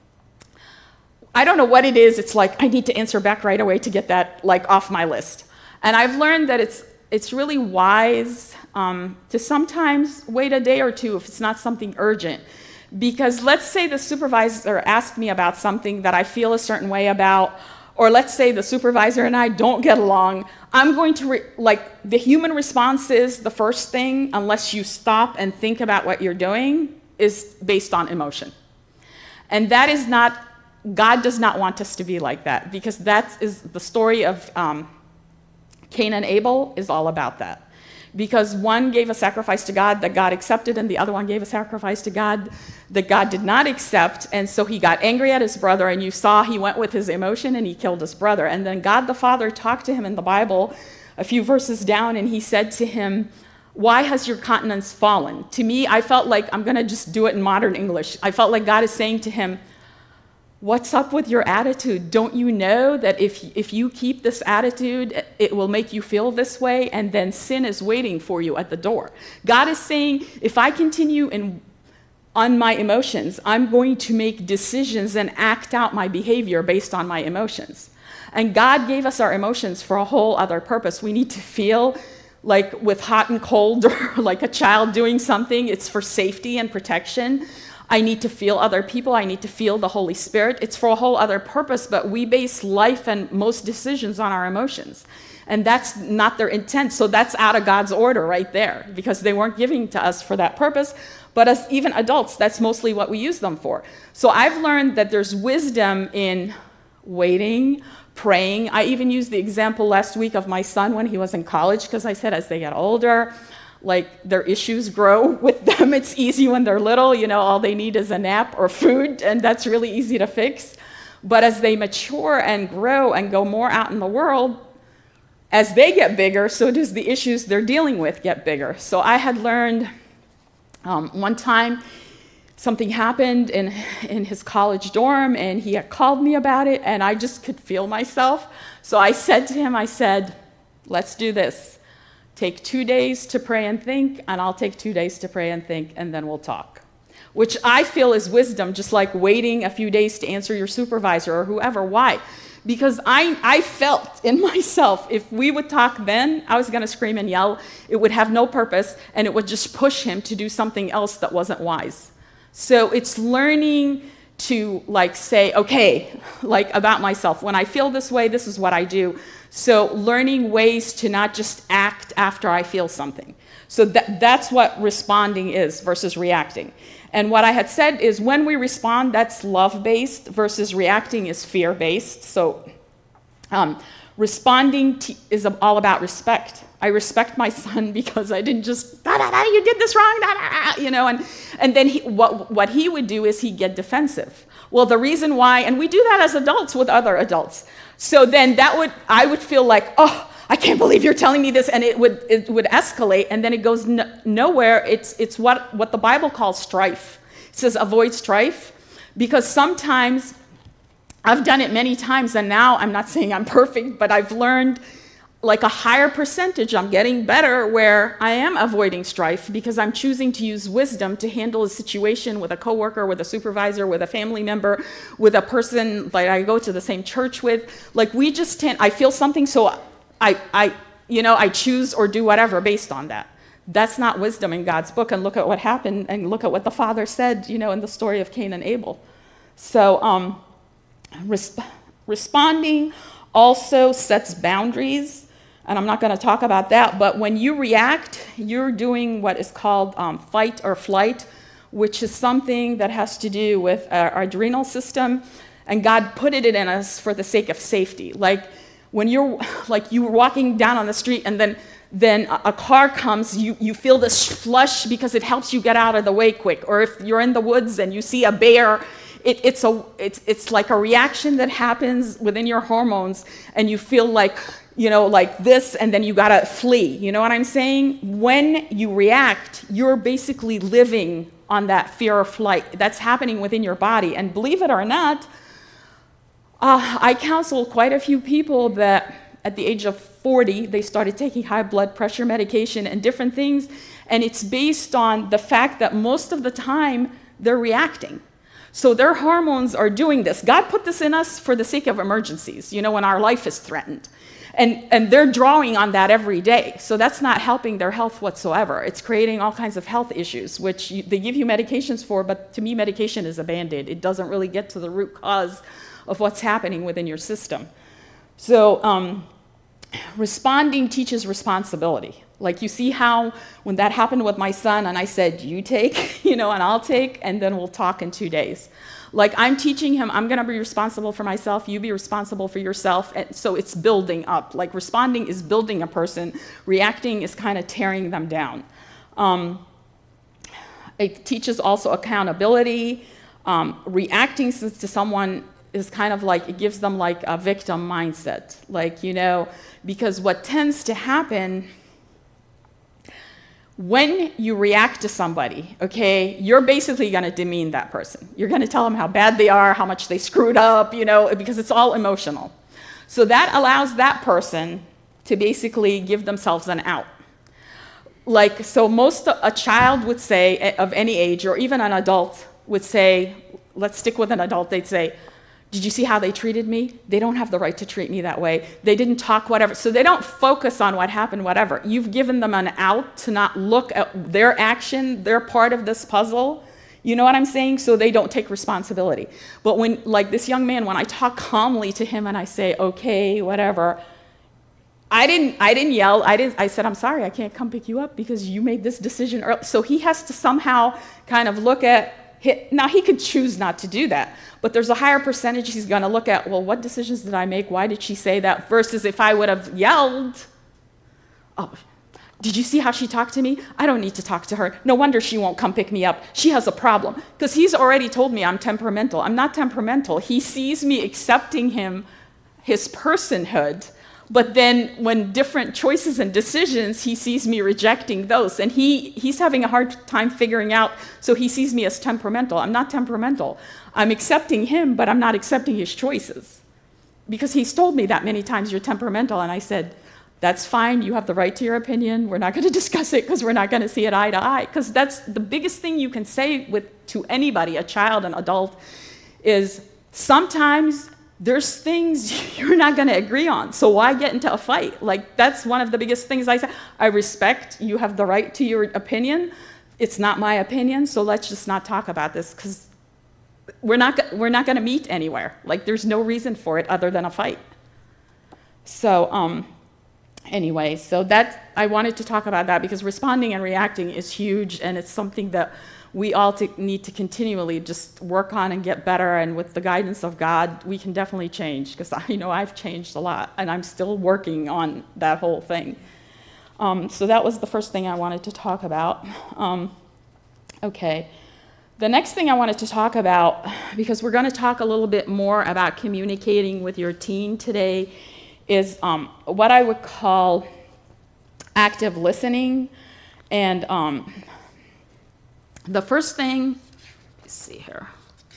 Speaker 1: I don't know what it is, it's like I need to answer back right away to get that like off my list. And I've learned that it's, it's really wise um, to sometimes wait a day or two if it's not something urgent. Because let's say the supervisor asked me about something that I feel a certain way about, or let's say the supervisor and I don't get along, I'm going to, re like, the human response is the first thing, unless you stop and think about what you're doing, is based on emotion. And that is not, God does not want us to be like that, because that is the story of um, Cain and Abel is all about that. Because one gave a sacrifice to God that God accepted, and the other one gave a sacrifice to God that God did not accept, and so he got angry at his brother, and you saw he went with his emotion and he killed his brother. And then God the Father talked to him in the Bible a few verses down, and he said to him, why has your countenance fallen? To me, I felt like, I'm going to just do it in modern English, I felt like God is saying to him, what's up with your attitude? Don't you know that if, if you keep this attitude, it will make you feel this way, and then sin is waiting for you at the door? God is saying, if I continue in, on my emotions, I'm going to make decisions and act out my behavior based on my emotions. And God gave us our emotions for a whole other purpose. We need to feel like with hot and cold, or like a child doing something. It's for safety and protection. I need to feel other people. I need to feel the Holy Spirit. It's for a whole other purpose, but we base life and most decisions on our emotions. And that's not their intent. So that's out of God's order right there, because they weren't giving to us for that purpose. But as even adults, that's mostly what we use them for. So I've learned that there's wisdom in waiting, praying. I even used the example last week of my son when he was in college, because I said as they get older, like their issues grow with them. It's easy when they're little, you know, all they need is a nap or food, and that's really easy to fix. But as they mature and grow and go more out in the world, as they get bigger, so does the issues they're dealing with get bigger. So I had learned um, one time something happened in, in his college dorm, and he had called me about it, and I just could feel myself. So I said to him, I said, let's do this. Take two days to pray and think, and I'll take two days to pray and think, and then we'll talk. Which I feel is wisdom, just like waiting a few days to answer your supervisor or whoever. Why? Because I, I felt in myself, if we would talk then, I was going to scream and yell. It would have no purpose, and it would just push him to do something else that wasn't wise. So it's learning to like say, okay, like about myself, when I feel this way, this is what I do. So learning ways to not just act after I feel something. So that, that's what responding is versus reacting. And what I had said is when we respond, that's love-based versus reacting is fear-based. So um, responding t is all about respect. I respect my son because I didn't just, da, da, da, you did this wrong, da, da, da, you know, and, and then he, what, what he would do is he'd get defensive. Well, the reason why, and we do that as adults with other adults. So then that would, I would feel like, oh, I can't believe you're telling me this, and it would, it would escalate, and then it goes no, nowhere. It's, it's what, what the Bible calls strife. It says avoid strife, because sometimes, I've done it many times, and now I'm not saying I'm perfect, but I've learned like a higher percentage, I'm getting better where I am avoiding strife because I'm choosing to use wisdom to handle a situation with a coworker, with a supervisor, with a family member, with a person that I go to the same church with. Like we just tend, I feel something, so I, I, you know, I choose or do whatever based on that. That's not wisdom in God's book, and look at what happened, and look at what the Father said, you know, in the story of Cain and Abel. So um, resp responding also sets boundaries. And I'm not going to talk about that, but when you react, you're doing what is called um, fight or flight, which is something that has to do with our, our adrenal system, and God put it in us for the sake of safety. Like when you're, like you were walking down on the street, and then, then a, a car comes, you, you feel this flush because it helps you get out of the way quick. Or if you're in the woods and you see a bear, it, it's, a, it's, it's like a reaction that happens within your hormones, and you feel like, you know, like this, and then you gotta flee. You know what I'm saying? When you react, you're basically living on that fear or flight. That's happening within your body. And believe it or not, uh, I counsel quite a few people that at the age of forty, they started taking high blood pressure medication and different things. And it's based on the fact that most of the time, they're reacting. So their hormones are doing this. God put this in us for the sake of emergencies, you know, when our life is threatened. And, and they're drawing on that every day. So that's not helping their health whatsoever. It's creating all kinds of health issues, which you, they give you medications for, but to me, medication is a Band-Aid. It doesn't really get to the root cause of what's happening within your system. So um, responding teaches responsibility. Like you see how when that happened with my son, and I said, you take, you know, and I'll take, and then we'll talk in two days. Like I'm teaching him, I'm gonna be responsible for myself, you be responsible for yourself, and so it's building up. Like responding is building a person, reacting is kind of tearing them down. Um, it teaches also accountability. Um, reacting to someone is kind of like, it gives them like a victim mindset. Like, you know, because what tends to happen when you react to somebody, okay, you're basically going to demean that person. You're going to tell them how bad they are, how much they screwed up, you know, because it's all emotional. So that allows that person to basically give themselves an out. Like, so most, a child would say, of any age, or even an adult would say, let's stick with an adult, they'd say, did you see how they treated me? They don't have the right to treat me that way. They didn't talk, whatever. So they don't focus on what happened, whatever. You've given them an out to not look at their action. They're part of this puzzle. You know what I'm saying? So they don't take responsibility. But when, like this young man, when I talk calmly to him and I say, okay, whatever, I didn't, I didn't yell. I, didn't, I said, I'm sorry, I can't come pick you up because you made this decision early. So he has to somehow kind of look at, now he could choose not to do that, but there's a higher percentage he's going to look at, well, what decisions did I make? Why did she say that? Versus if I would have yelled, oh, did you see how she talked to me? I don't need to talk to her. No wonder she won't come pick me up. She has a problem. Because he's already told me I'm temperamental. I'm not temperamental. He sees me accepting him, his personhood, but then when different choices and decisions, he sees me rejecting those. And he, he's having a hard time figuring out, so he sees me as temperamental. I'm not temperamental. I'm accepting him, but I'm not accepting his choices. Because he's told me that many times, you're temperamental. And I said, that's fine. You have the right to your opinion. We're not going to discuss it because we're not going to see it eye to eye. Because that's the biggest thing you can say with, to anybody, a child, an adult, is sometimes there's things you're not going to agree on, so why get into a fight? Like, that's one of the biggest things I say. I respect you have the right to your opinion. It's not my opinion, so let's just not talk about this, because we're not, we're not going to meet anywhere. Like, there's no reason for it other than a fight. So, um, anyway, so that, I wanted to talk about that because responding and reacting is huge, and it's something that we all to, need to continually just work on and get better, and with the guidance of God, we can definitely change, because I know I've changed a lot, and I'm still working on that whole thing. Um, so that was the first thing I wanted to talk about. Um, okay. The next thing I wanted to talk about, because we're going to talk a little bit more about communicating with your teen today, is um, what I would call active listening. And um, the first thing, let's see here.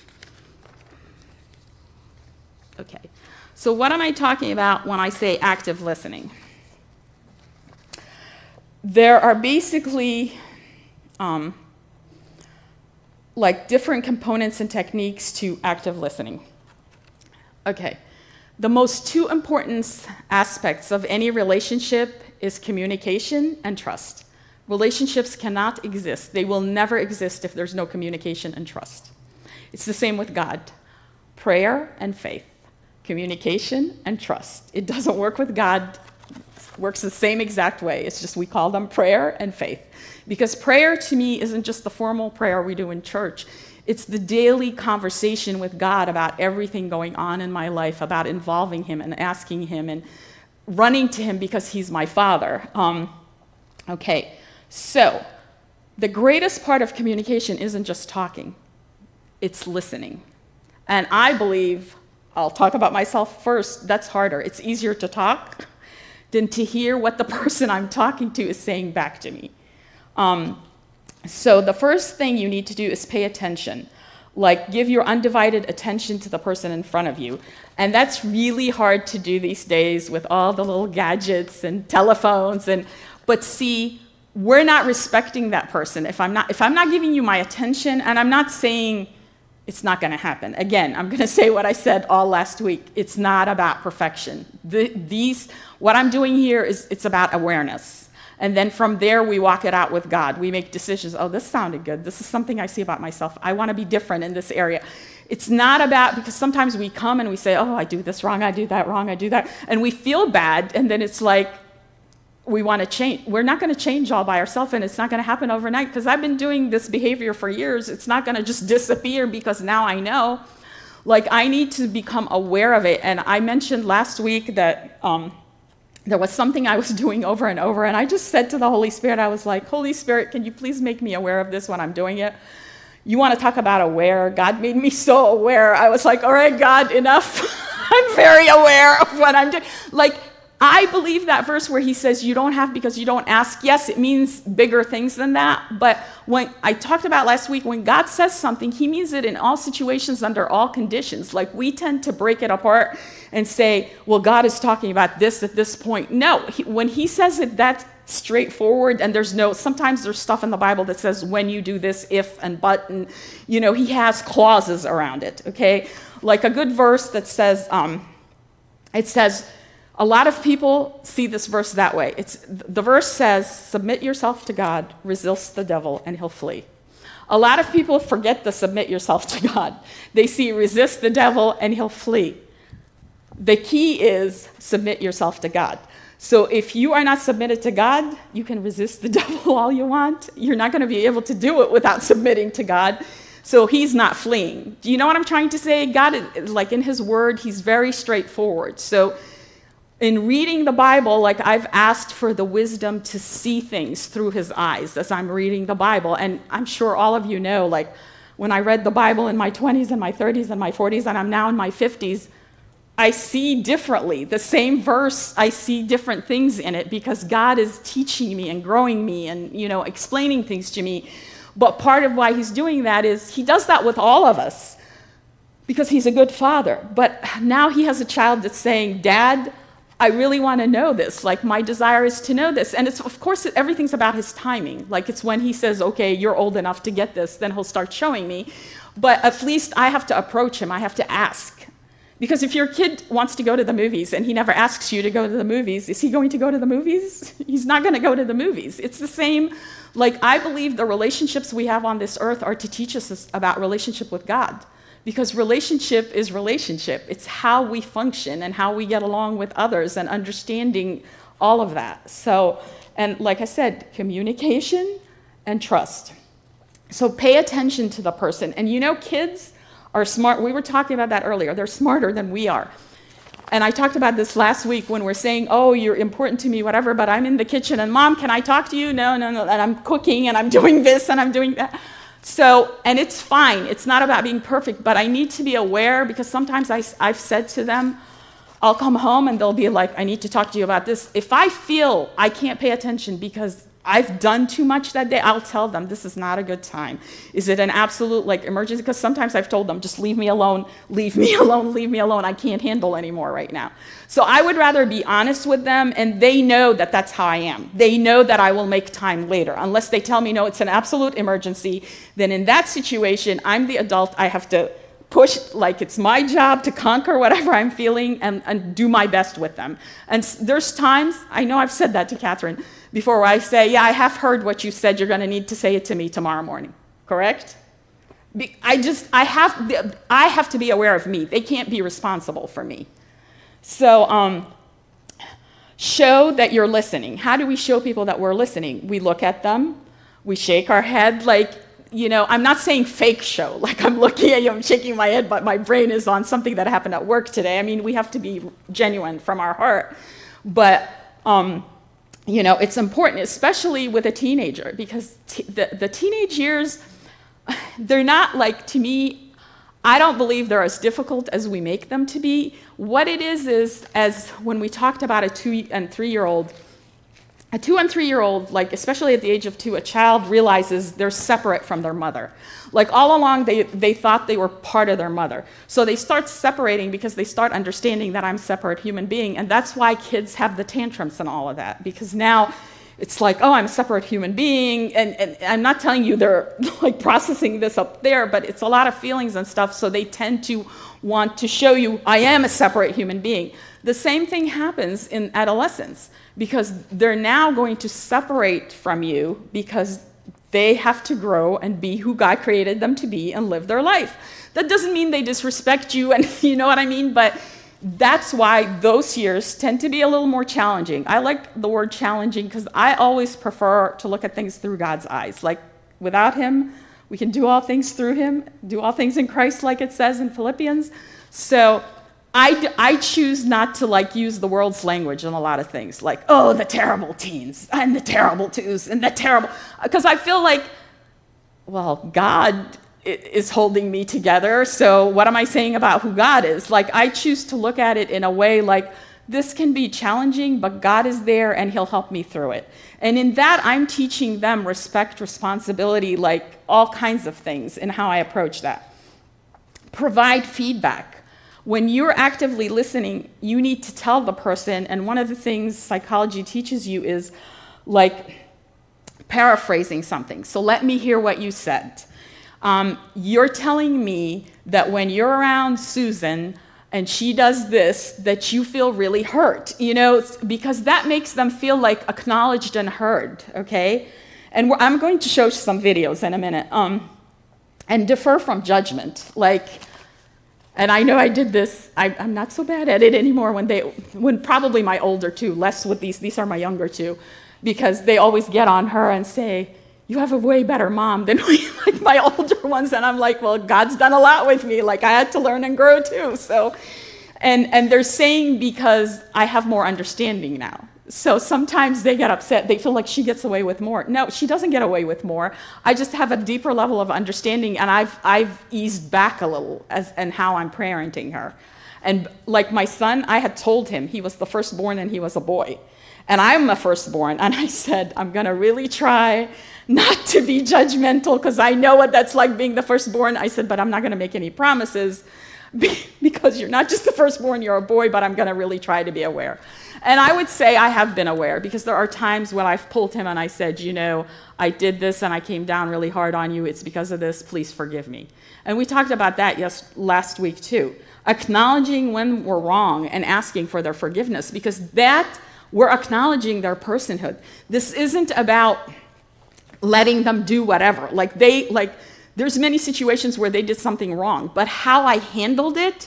Speaker 1: Okay, so what am I talking about when I say active listening? There are basically um, like different components and techniques to active listening. Okay. The most two important aspects of any relationship is communication and trust. Relationships cannot exist. They will never exist if there's no communication and trust. It's the same with God. Prayer and faith. Communication and trust. It doesn't work with God. It works the same exact way. It's just we call them prayer and faith. Because prayer to me isn't just the formal prayer we do in church. It's the daily conversation with God about everything going on in my life, about involving him and asking him and running to him because he's my father. Um, okay, so the greatest part of communication isn't just talking. It's listening. And I believe, I'll talk about myself first, that's harder. It's easier to talk than to hear what the person I'm talking to is saying back to me. Um, So the first thing you need to do is pay attention. Like, give your undivided attention to the person in front of you. And that's really hard to do these days with all the little gadgets and telephones. And, but see, we're not respecting that person. If I'm not, if I'm not giving you my attention, and I'm not saying it's not going to happen. Again, I'm going to say what I said all last week. It's not about perfection. The, these, what I'm doing here is it's about awareness. And then from there, we walk it out with God. We make decisions. Oh, this sounded good. This is something I see about myself. I want to be different in this area. It's not about, because sometimes we come and we say, oh, I do this wrong, I do that wrong, I do that. And we feel bad, and then it's like we want to change. We're not going to change all by ourselves, and it's not going to happen overnight, because I've been doing this behavior for years. It's not going to just disappear because now I know. Like, I need to become aware of it. And I mentioned last week that um, there was something I was doing over and over, and I just said to the Holy Spirit, I was like, Holy Spirit, can you please make me aware of this when I'm doing it? You want to talk about aware? God made me so aware. I was like, all right, God, enough. I'm very aware of what I'm doing. Like, I believe that verse where he says you don't have because you don't ask. Yes, it means bigger things than that. But when I talked about last week, when God says something, he means it in all situations, under all conditions. Like, we tend to break it apart and say, well, God is talking about this at this point. No, he, when he says it, that's straightforward, and there's no, sometimes there's stuff in the Bible that says when you do this, if and but, and, you know, he has clauses around it, okay? Like a good verse that says, um, it says, a lot of people see this verse that way. It's, the verse says, submit yourself to God, resist the devil, and he'll flee. A lot of people forget to submit yourself to God. They see resist the devil, and he'll flee. The key is submit yourself to God. So if you are not submitted to God, you can resist the devil all you want. You're not going to be able to do it without submitting to God. So he's not fleeing. Do you know what I'm trying to say? God, is, like in his word, he's very straightforward. So in reading the Bible, like, I've asked for the wisdom to see things through his eyes as I'm reading the Bible. And I'm sure all of you know, like, when I read the Bible in my twenties and my thirties and my forties, and I'm now in my fifties, I see differently. The same verse, I see different things in it because God is teaching me and growing me and, you know, explaining things to me. But part of why he's doing that is he does that with all of us because he's a good father. But now he has a child that's saying, Dad, I really want to know this. Like, my desire is to know this. And it's, of course, everything's about his timing. Like, it's when he says, okay, you're old enough to get this, then he'll start showing me. But at least I have to approach him. I have to ask. Because if your kid wants to go to the movies and he never asks you to go to the movies, is he going to go to the movies? He's not going to go to the movies. It's the same. Like, I believe the relationships we have on this earth are to teach us about relationship with God. Because relationship is relationship. It's how we function and how we get along with others and understanding all of that. So, and like I said, communication and trust. So pay attention to the person. And you know, kids are smart. We were talking about that earlier. They're smarter than we are. And I talked about this last week when we're saying, oh, you're important to me, whatever, but I'm in the kitchen and Mom, can I talk to you? No, no, no. And I'm cooking and I'm doing this and I'm doing that. So, and it's fine. It's not about being perfect, but I need to be aware, because sometimes I, I've said to them, I'll come home and they'll be like, I need to talk to you about this. If I feel I can't pay attention because I've done too much that day, I'll tell them this is not a good time. Is it an absolute like emergency? Because sometimes I've told them, just leave me alone, leave me alone, leave me alone. I can't handle anymore right now. So I would rather be honest with them, and they know that that's how I am. They know that I will make time later. Unless they tell me, no, it's an absolute emergency, then in that situation, I'm the adult. I have to push, like it's my job to conquer whatever I'm feeling and, and do my best with them. And there's times, I know I've said that to Catherine before, where I say, yeah, I have heard what you said, you're gonna need to say it to me tomorrow morning, correct? Be, I just, I have, I have to be aware of me. They can't be responsible for me. So um, show that you're listening. How do we show people that we're listening? We look at them, we shake our head like, you know, I'm not saying fake show, like I'm looking at you, I'm shaking my head, but my brain is on something that happened at work today. I mean, we have to be genuine from our heart. But, um, you know, it's important, especially with a teenager, because t the, the teenage years, they're not like, to me, I don't believe they're as difficult as we make them to be. What it is is, as when we talked about a two and three-year-old, a two and three-year-old, like especially at the age of two, a child realizes they're separate from their mother. Like all along, they, they thought they were part of their mother. So they start separating because they start understanding that I'm a separate human being. And that's why kids have the tantrums and all of that. Because now it's like, oh, I'm a separate human being. And, and I'm not telling you they're like processing this up there, but it's a lot of feelings and stuff. So they tend to want to show you, I am a separate human being. The same thing happens in adolescence, because they're now going to separate from you because they have to grow and be who God created them to be and live their life. That doesn't mean they disrespect you, and you know what I mean, but that's why those years tend to be a little more challenging. I like the word challenging because I always prefer to look at things through God's eyes. Like, without Him, we can do all things through Him, do all things in Christ, like it says in Philippians. So I, I choose not to like use the world's language in a lot of things, like, oh, the terrible teens and the terrible twos and the terrible, because I feel like, well, God is holding me together, so what am I saying about who God is? Like, I choose to look at it in a way like, this can be challenging, but God is there and He'll help me through it. And in that, I'm teaching them respect, responsibility, like all kinds of things in how I approach that. Provide feedback. When you're actively listening, you need to tell the person, and one of the things psychology teaches you is like paraphrasing something. So let me hear what you said. Um, you're telling me that when you're around Susan and she does this, that you feel really hurt, you know, because that makes them feel like acknowledged and heard, okay? And we're, I'm going to show some videos in a minute. Um, and defer from judgment, like, and I know I did this, I, I'm not so bad at it anymore when they, when probably my older two, less with these, these are my younger two, because they always get on her and say, you have a way better mom than we, like my older ones, and I'm like, well, God's done a lot with me, like I had to learn and grow too, so, and, and they're saying because I have more understanding now. So sometimes they get upset, they feel like she gets away with more. No, she doesn't get away with more. I just have a deeper level of understanding, and I've, I've eased back a little as and how I'm parenting her. And like my son, I had told him he was the firstborn and he was a boy. And I'm a firstborn, and I said, I'm gonna really try not to be judgmental because I know what that's like being the firstborn. I said, but I'm not gonna make any promises because you're not just the firstborn, you're a boy, but I'm gonna really try to be aware. And I would say I have been aware, because there are times when I've pulled him and I said, you know, I did this and I came down really hard on you. It's because of this. Please forgive me. And we talked about that yes, last week too. Acknowledging when we're wrong and asking for their forgiveness, because that, we're acknowledging their personhood. This isn't about letting them do whatever. Like they, like, there's many situations where they did something wrong, but how I handled it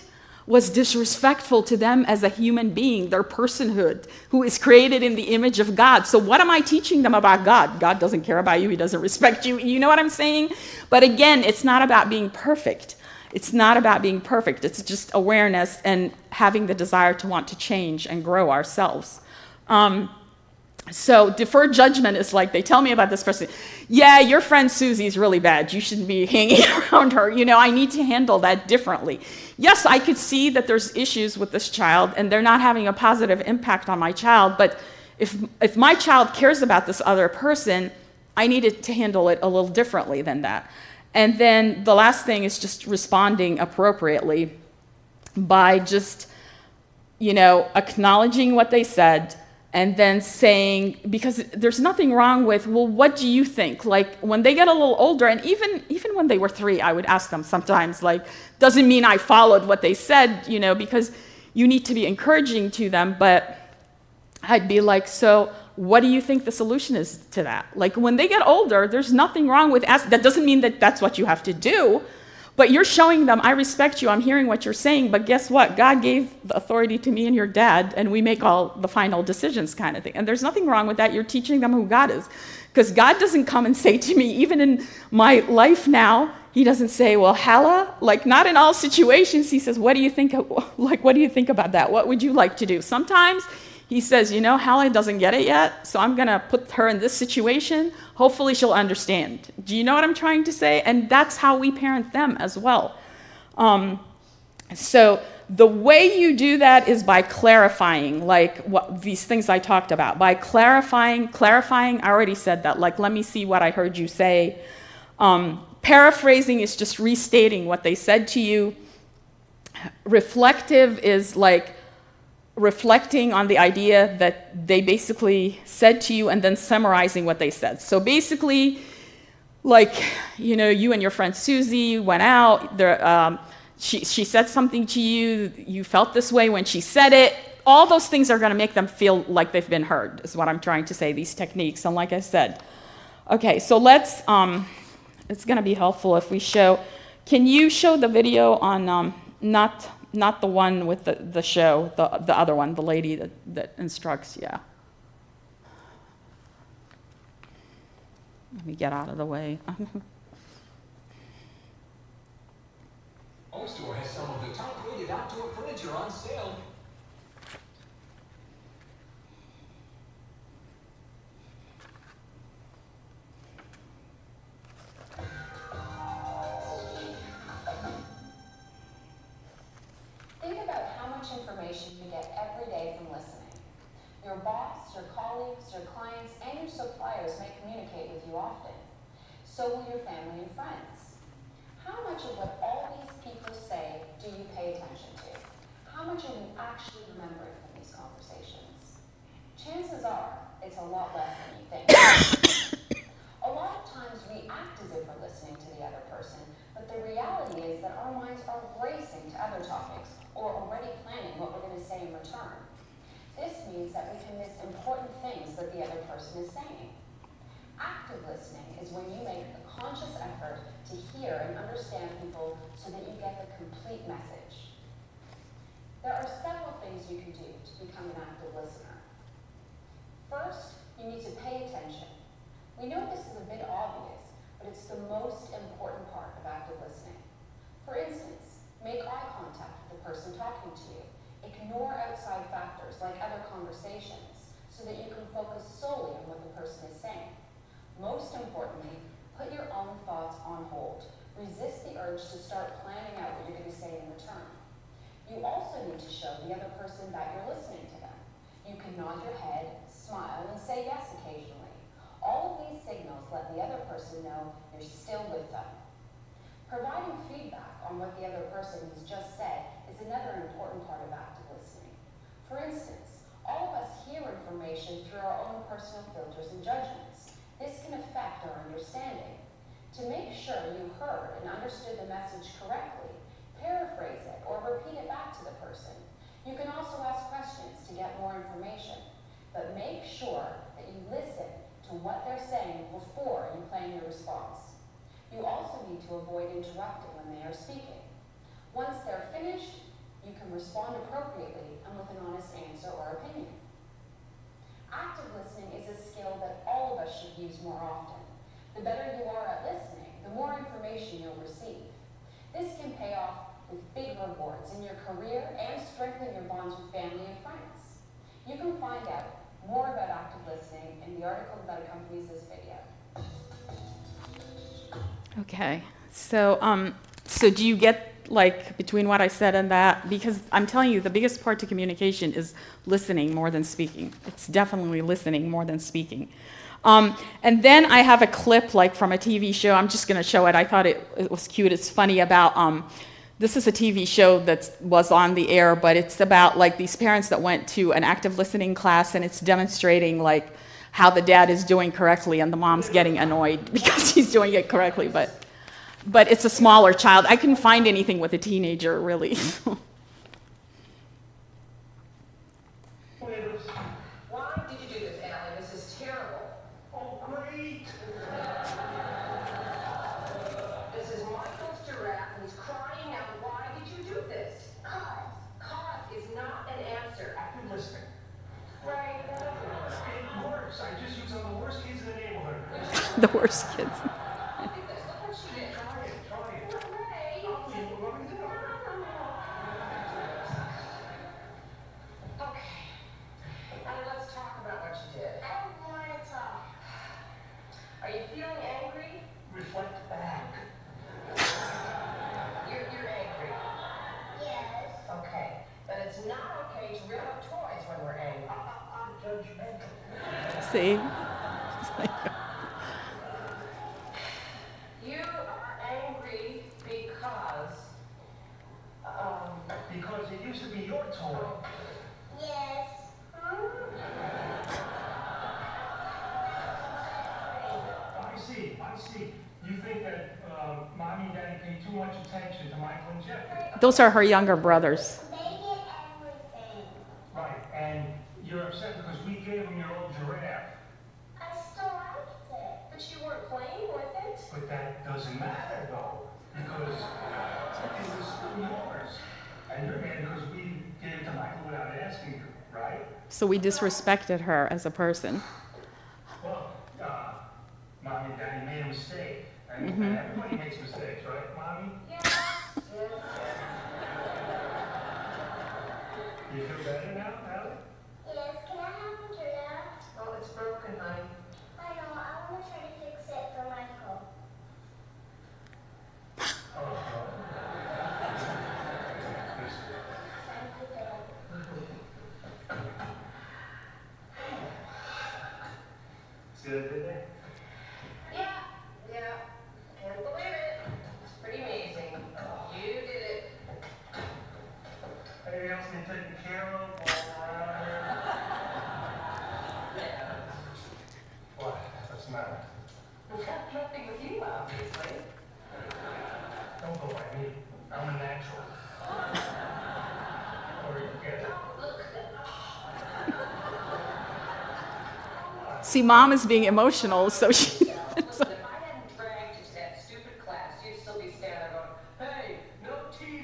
Speaker 1: was disrespectful to them as a human being, their personhood, who is created in the image of God. So what am I teaching them about God? God doesn't care about you. He doesn't respect you. You know what I'm saying? But again, it's not about being perfect. It's not about being perfect. It's just awareness and having the desire to want to change and grow ourselves. Um, So deferred judgment is like, they tell me about this person. Yeah, your friend Susie is really bad. You shouldn't be hanging around her. You know, I need to handle that differently. Yes, I could see that there's issues with this child and they're not having a positive impact on my child. But if, if my child cares about this other person, I needed to handle it a little differently than that. And then the last thing is just responding appropriately by just, you know, acknowledging what they said, and then saying, because there's nothing wrong with, well, what do you think? Like, when they get a little older, and even, even when they were three, I would ask them sometimes, like, doesn't mean I followed what they said, you know, because you need to be encouraging to them, but I'd be like, so what do you think the solution is to that? Like, when they get older, there's nothing wrong with asking. That doesn't mean that that's what you have to do, but you're showing them, I respect you, I'm hearing what you're saying, but guess what? God gave the authority to me and your dad, and we make all the final decisions kind of thing. And there's nothing wrong with that. You're teaching them who God is. Because God doesn't come and say to me, even in my life now, he doesn't say, well, Hala, like, not in all situations. He says, what do you think, of, like, what do you think about that? What would you like to do? Sometimes he says, you know, Hala doesn't get it yet, so I'm going to put her in this situation. Hopefully she'll understand. Do you know what I'm trying to say? And that's how we parent them as well. Um, so the way you do that is by clarifying, like what these things I talked about. By clarifying, clarifying, I already said that. Like, let me see what I heard you say. Um, paraphrasing is just restating what they said to you. Reflective is like, reflecting on the idea that they basically said to you and then summarizing what they said. So basically, like, you know, you and your friend Susie went out, there, um, she, she said something to you, you felt this way when she said it. All those things are going to make them feel like they've been heard, is what I'm trying to say, these techniques. And like I said, okay, so let's, um, it's going to be helpful if we show, can you show the video on, um, not, Not the one with the, the show, the, the other one, the lady that, that instructs, yeah. Let me get out of the way.
Speaker 6: Home Store has some of the top-rated outdoor furniture on sale.
Speaker 7: Think about how much information you get every day from listening. Your boss, your colleagues, your clients, and your suppliers may communicate with you often. So will your family and friends. How much of what all these people say do you pay attention to? How much are you actually remembering from these conversations? Chances are, it's a lot less than you think. A lot of times we act as if we're listening to the other person, but the reality is that our minds are racing to other topics, or already planning what we're going to say in return. This means that we can miss important things that the other person is saying. Active listening is when you make a conscious effort to hear and understand people so that you get the complete message. There are several things you can do to become an active listener. First, you need to pay attention. We know this is a bit obvious, but it's the most important part of active listening. For instance, make eye contact with the person talking to you. Ignore outside factors like other conversations so that you can focus solely on what the person is saying. Most importantly, put your own thoughts on hold. Resist the urge to start planning out what you're going to say in return. You also need to show the other person that you're listening to them. You can nod your head, smile, and say yes occasionally. All of these signals let the other person know you're still with them. Providing feedback on what the other person has just said is another important part of active listening. For instance, all of us hear information through our own personal filters and judgments. This can affect our understanding. To make sure you heard and understood the message correctly, paraphrase it or repeat it back to the person. You can also ask questions to get more information, but make sure that you listen to what they're saying before you plan your response. You also need to avoid interrupting when they are speaking. Once they're finished, You can respond appropriately and with an honest answer or opinion. Active listening is a skill that all of us should use more often. The better you are at listening, the more information you'll receive. This can pay off with big rewards in your career and strengthen your bonds with family and friends. You can find out more about active listening in the article that accompanies this video.
Speaker 1: Okay, so um, so do you get, like, between what I said and that? Because I'm telling you, the biggest part to communication is listening more than speaking. It's definitely listening more than speaking. Um, and then I have a clip, like, from a T V show. I'm just going to show it. I thought it, it was cute. It's funny about, um, this is a T V show that was on the air, but it's about, like, these parents that went to an active listening class, and it's demonstrating, like, how the dad is doing correctly and the mom's getting annoyed because he's doing it correctly, but but it's a smaller child. I couldn't find anything with a teenager, really.
Speaker 8: Why did you do this, Allie? This is terrible. Oh, great. This is Michael's giraffe, and he's crying out. Why did you do this? Cause. Cause is not an answer.
Speaker 6: Active listening.
Speaker 8: Right.
Speaker 6: It works. I just use on the worst kids in the neighborhood.
Speaker 1: The worst kids.
Speaker 8: Look what she did.
Speaker 6: Try it. Try it.
Speaker 8: Ray.
Speaker 6: I'll see what I'm
Speaker 8: No,
Speaker 6: doing.
Speaker 8: no, no. Okay. Now let's talk about what you did. I don't want to talk. Are you feeling angry?
Speaker 6: Reflect back.
Speaker 8: You're, you're angry.
Speaker 3: Yes.
Speaker 8: Okay. Then it's not okay to rip up toys when we're angry.
Speaker 6: I'm judgmental.
Speaker 1: See?
Speaker 8: You are angry because, um,
Speaker 6: Because it used to be your toy.
Speaker 3: Yes.
Speaker 6: I see. I see. You think that uh, mommy and daddy pay too much attention to Michael and Jeffrey.
Speaker 1: Those are her younger brothers.
Speaker 3: They get everything.
Speaker 6: Right. And you're upset because we gave them your old giraffe.
Speaker 3: I still liked it.
Speaker 8: but you weren't playing with it.
Speaker 6: But that doesn't matter, though, because it was yours. And you're mad because we gave it to Michael without asking you, right?
Speaker 1: So we disrespected her as a person.
Speaker 6: Well, uh, Mommy and Daddy made a mistake. And,
Speaker 1: Mm-hmm.
Speaker 6: and everybody makes mistakes, right, Mommy?
Speaker 8: Yes. Yes.
Speaker 6: You feel better now, Allie?
Speaker 3: Yes, can I have a giraffe?
Speaker 8: Oh, it's broken, honey.
Speaker 3: I know, I want to try to fix it for Michael.
Speaker 6: Oh, no.
Speaker 3: Thank you, Dad.
Speaker 6: See what I did there?
Speaker 8: Yeah, yeah. Can't believe it. It's pretty amazing. You did it.
Speaker 6: Anything else need taken care of while we're around here?
Speaker 8: Yeah.
Speaker 6: What? What's the matter?
Speaker 8: It's got nothing with you, obviously.
Speaker 6: Don't go by me. I'm a natural. Or you get it.
Speaker 8: Look.
Speaker 1: See, Mom is being emotional, so she...
Speaker 8: Listen, if I hadn't dragged you to that stupid class, you'd still be standing there going, hey, no T V.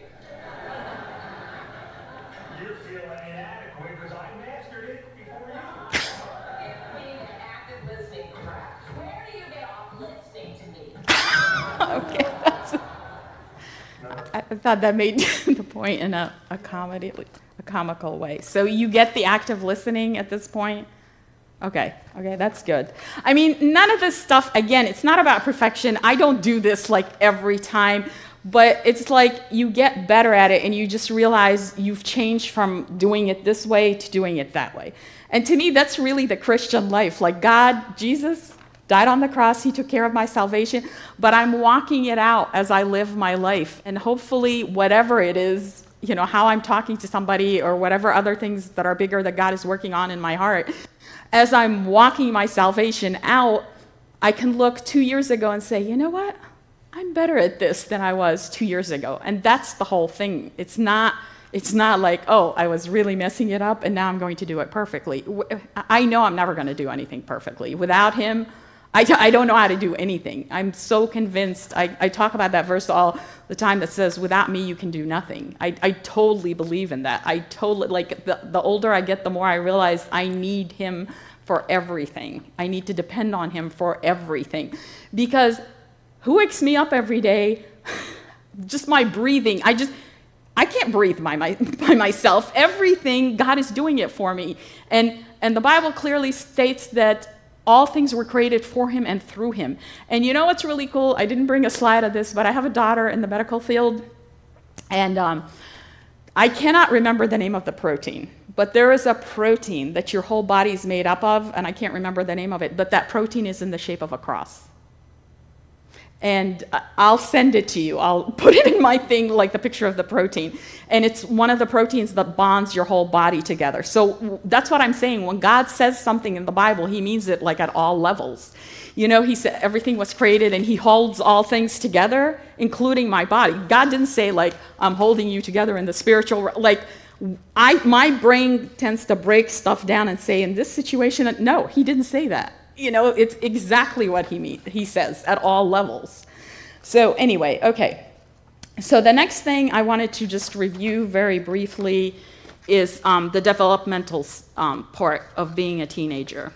Speaker 6: You're feeling inadequate because I mastered it before you.
Speaker 8: Give me an active listening crap. Where do you get off listening to me?
Speaker 1: Okay, that's... I I thought that made the point in a, a comedy, a comical way. So you get the active listening at this point? Okay, okay, that's good. I mean, none of this stuff, again, it's not about perfection. I don't do this like every time, but it's like you get better at it and you just realize you've changed from doing it this way to doing it that way. And to me, that's really the Christian life. Like God, Jesus, died on the cross, he took care of my salvation, but I'm walking it out as I live my life. And hopefully, whatever it is, you know, how I'm talking to somebody or whatever other things that are bigger that God is working on in my heart, as I'm walking my salvation out, I can look two years ago and say, you know what? I'm better at this than I was two years ago. And that's the whole thing. It's not, it's not like, oh, I was really messing it up and now I'm going to do it perfectly. I know I'm never going to do anything perfectly. Without him, I, I don't know how to do anything. I'm so convinced. I, I talk about that verse all the time that says, without me, you can do nothing. I, I totally believe in that. I totally, like, the, the older I get, the more I realize I need him for everything. I need to depend on him for everything. Because who wakes me up every day? Just my breathing. I just, I can't breathe by, my, by myself. Everything, God is doing it for me. And, and the Bible clearly states that all things were created for him and through him. And you know what's really cool? I didn't bring a slide of this, but I have a daughter in the medical field. And um, I cannot remember the name of the protein. But there is a protein that your whole body is made up of, and I can't remember the name of it, but that protein is in the shape of a cross. And I'll send it to you. I'll put it in my thing, like the picture of the protein. And it's one of the proteins that bonds your whole body together. So that's what I'm saying. When God says something in the Bible, he means it like at all levels. You know, he said everything was created and he holds all things together, including my body. God didn't say, like, I'm holding you together in the spiritual, like, I, my brain tends to break stuff down and say, in this situation, no, he didn't say that. You know, it's exactly what he mean, he says at all levels. So anyway, okay. So the next thing I wanted to just review very briefly is um, the developmental um, part of being a teenager.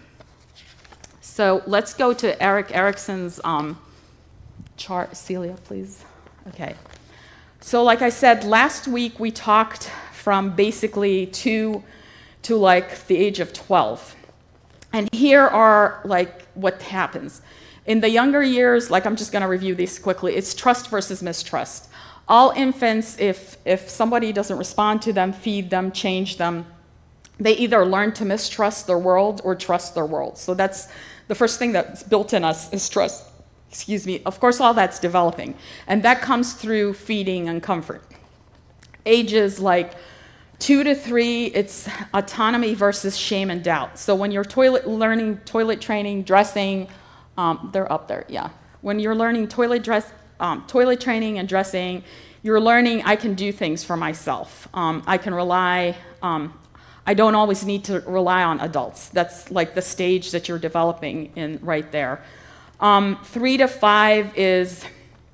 Speaker 1: So let's go to Erik Erikson's um, chart. Celia, please. Okay. So like I said, last week we talked from basically two to like the age of twelve. And here are like what happens. In the younger years, like I'm just gonna review these quickly, it's trust versus mistrust. All infants, if, if somebody doesn't respond to them, feed them, change them, they either learn to mistrust their world or trust their world. So that's the first thing that's built in us is trust. Excuse me. Of course, all that's developing. And that comes through feeding and comfort. Ages like Two to three, it's autonomy versus shame and doubt. So when you're toilet learning toilet training, dressing, um, they're up there, yeah. When you're learning toilet dress, um, toilet training and dressing, you're learning I can do things for myself. Um, I can rely. Um, I don't always need to rely on adults. That's like the stage that you're developing in right there. Um, three to five is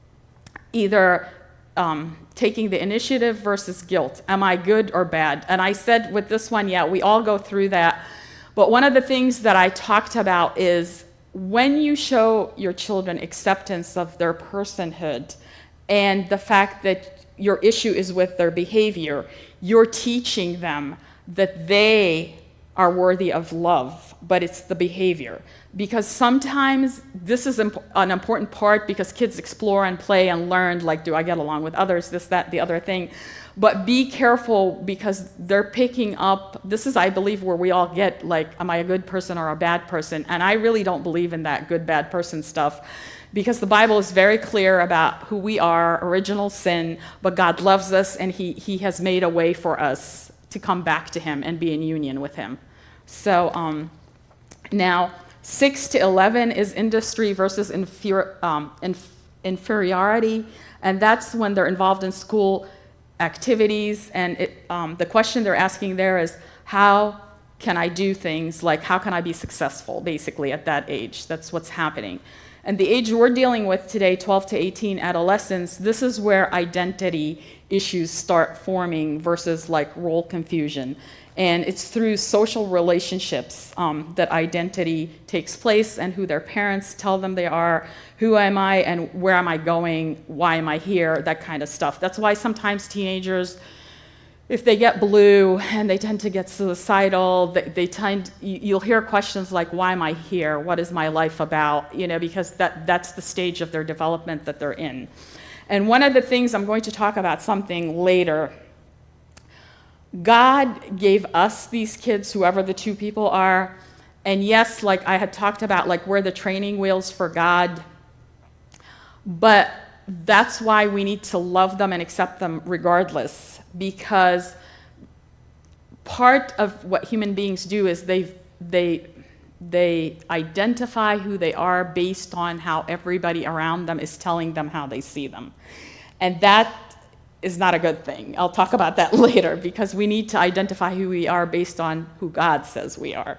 Speaker 1: either um, taking the initiative versus guilt. Am I good or bad? And I said with this one, yeah, we all go through that. But one of the things that I talked about is when you show your children acceptance of their personhood and the fact that your issue is with their behavior, you're teaching them that they are worthy of love, but it's the behavior. Because sometimes this is imp an important part because kids explore and play and learn, like, do I get along with others, this, that, the other thing. But be careful because they're picking up, this is, I believe, where we all get, like, am I a good person or a bad person? And I really don't believe in that good, bad person stuff because the Bible is very clear about who we are, original sin, but God loves us and he, he has made a way for us to come back to him and be in union with him. So um, now, six to eleven is industry versus inferi um, inf inferiority, and that's when they're involved in school activities, and it, um, the question they're asking there is, how can I do things, like how can I be successful, basically, at that age? That's what's happening. And the age we're dealing with today, twelve to eighteen, adolescence, this is where identity issues start forming versus like role confusion. And it's through social relationships um, that identity takes place and who their parents tell them they are, who am I and where am I going, why am I here, that kind of stuff. That's why sometimes teenagers, if they get blue and they tend to get suicidal, they, they tend, you'll hear questions like, why am I here? What is my life about? You know, because that, that's the stage of their development that they're in. And one of the things, I'm going to talk about something later, God gave us these kids, whoever the two people are, and yes, like I had talked about, like we're the training wheels for God, but that's why we need to love them and accept them regardless, because part of what human beings do is they, they, they identify who they are based on how everybody around them is telling them how they see them. And that is not a good thing. I'll talk about that later, because we need to identify who we are based on who God says we are.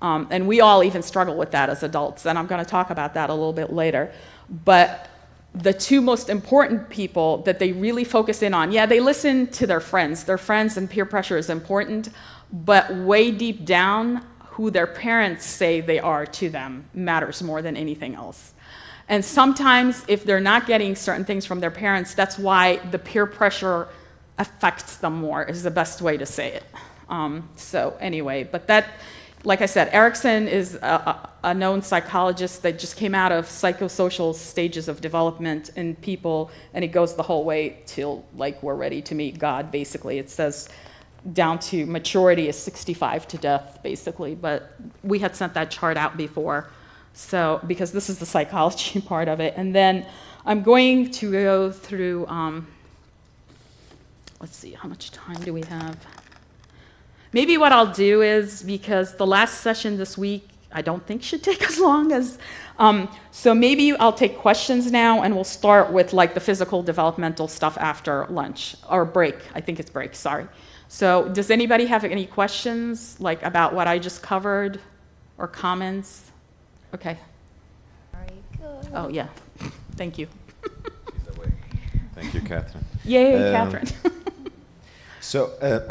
Speaker 1: Um, and we all even struggle with that as adults, and I'm going to talk about that a little bit later. But the two most important people that they really focus in on, yeah, they listen to their friends. Their friends and peer pressure is important, but way deep down, who their parents say they are to them matters more than anything else. And sometimes if they're not getting certain things from their parents, that's why the peer pressure affects them more, is the best way to say it. Um, so anyway, but that, like I said, Erikson is a, a known psychologist that just came out of psychosocial stages of development in people, and it goes the whole way till like we're ready to meet God, basically. It says down to maturity is sixty-five to death, basically, but we had sent that chart out before, so because this is the psychology part of it. And then I'm going to go through, um, let's see, how much time do we have? Maybe what I'll do is, because the last session this week I don't think should take as long as, um, so maybe I'll take questions now, and we'll start with like the physical developmental stuff after lunch, or break, I think it's break, sorry. So does anybody have any questions, like about what I just covered, or comments? Okay.
Speaker 9: Very good.
Speaker 1: Oh, yeah. Thank you.
Speaker 2: She's away. Thank you, Catherine.
Speaker 1: Yay,
Speaker 2: Um,
Speaker 1: Catherine.
Speaker 2: So, uh,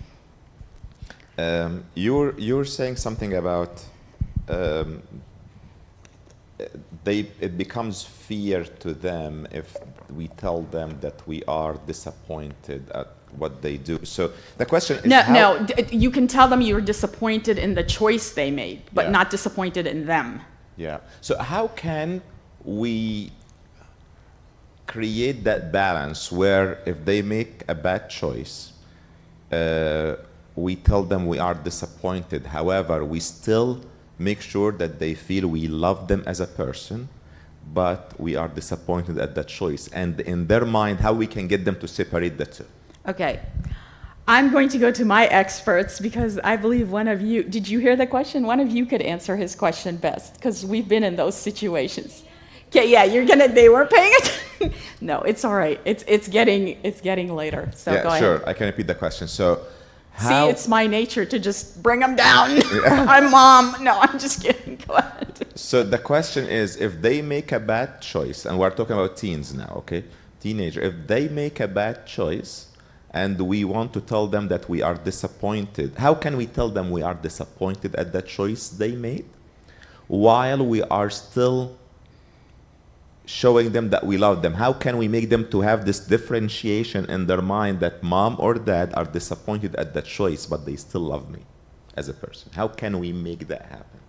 Speaker 2: um, you're, you're saying something about um, they, it becomes fear to them if we tell them that we are disappointed at what they do. So the question is,
Speaker 1: No,
Speaker 2: how
Speaker 1: no, d- you can tell them you're disappointed in the choice they made, but
Speaker 2: Yeah.
Speaker 1: not disappointed in them.
Speaker 2: Yeah. So how can we create that balance where if they make a bad choice, uh, we tell them we are disappointed. However, we still make sure that they feel we love them as a person, but we are disappointed at that choice. And in their mind, how we can get them to separate the two.
Speaker 1: Okay. I'm going to go to my experts because I believe one of you, did you hear the question? One of you could answer his question best because we've been in those situations. Okay, yeah, you're gonna, they were paying attention. No, it's all right. It's, it's, getting, it's getting later, so
Speaker 2: yeah,
Speaker 1: go ahead.
Speaker 2: sure, I can repeat the question. So how...
Speaker 1: See, it's my nature to just bring them down. I'm mom. No, I'm just kidding. Go ahead.
Speaker 2: So the question is, if they make a bad choice, and we're talking about teens now, okay? Teenager, if they make a bad choice, and we want to tell them that we are disappointed, how can we tell them we are disappointed at the choice they made, while we are still showing them that we love them? How can we make them to have this differentiation in their mind that mom or dad are disappointed at that choice, but they still love me as a person? How can we make that happen?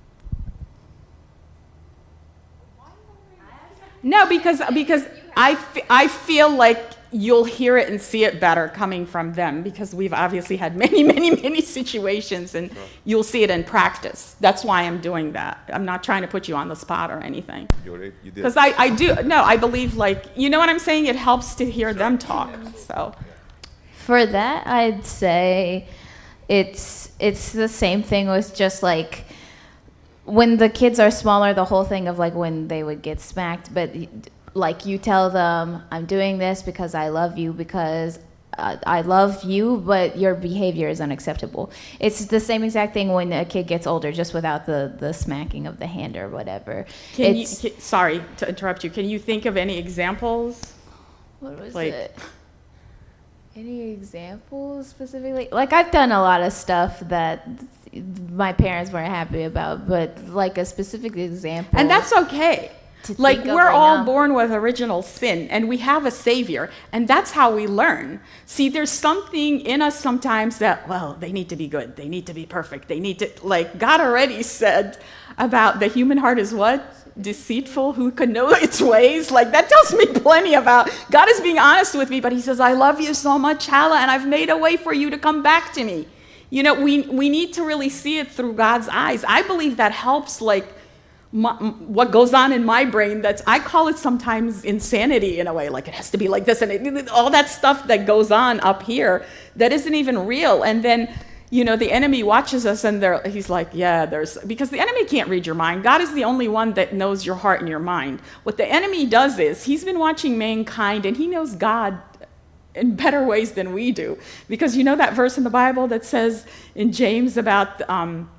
Speaker 1: No, because, because I, f I feel like you'll hear it and see it better coming from them because we've obviously had many, many, many situations and you'll see it in practice. That's why I'm doing that. I'm not trying to put you on the spot or anything.
Speaker 2: You did.
Speaker 1: Because I, I do, no, I believe like, you know what I'm saying? It helps to hear them talk, so.
Speaker 9: For that, I'd say it's it's the same thing with just like when the kids are smaller, the whole thing of like when they would get smacked, but like you tell them, I'm doing this because I love you, because uh, I love you, but your behavior is unacceptable. It's the same exact thing when a kid gets older, just without the, the smacking of the hand or whatever.
Speaker 1: Can you,
Speaker 9: It's,
Speaker 1: can, sorry to interrupt you. Can you think of any examples?
Speaker 9: what was
Speaker 1: like-
Speaker 9: it? Any examples specifically? Like I've done a lot of stuff that my parents weren't happy about, but like a specific example.
Speaker 1: And that's okay.
Speaker 9: to
Speaker 1: Like,
Speaker 9: think of
Speaker 1: we're
Speaker 9: right
Speaker 1: all
Speaker 9: now.
Speaker 1: born with original sin, and we have a Savior, and that's how we learn. See, there's something in us sometimes that, well, they need to be good, they need to be perfect, they need to, like, God already said about the human heart is what? Deceitful, who could know its ways? Like, that tells me plenty about, God is being honest with me, but he says, I love you so much, Hala, and I've made a way for you to come back to me. You know, we, we need to really see it through God's eyes. I believe that helps, like, My, what goes on in my brain. That's, I call it sometimes insanity in a way, like it has to be like this, and it, all that stuff that goes on up here that isn't even real. And then, you know, the enemy watches us and they're, he's like, yeah, there's, because the enemy can't read your mind. God is the only one that knows your heart and your mind. What the enemy does is he's been watching mankind and he knows God in better ways than we do. Because you know that verse in the Bible that says in James about, um,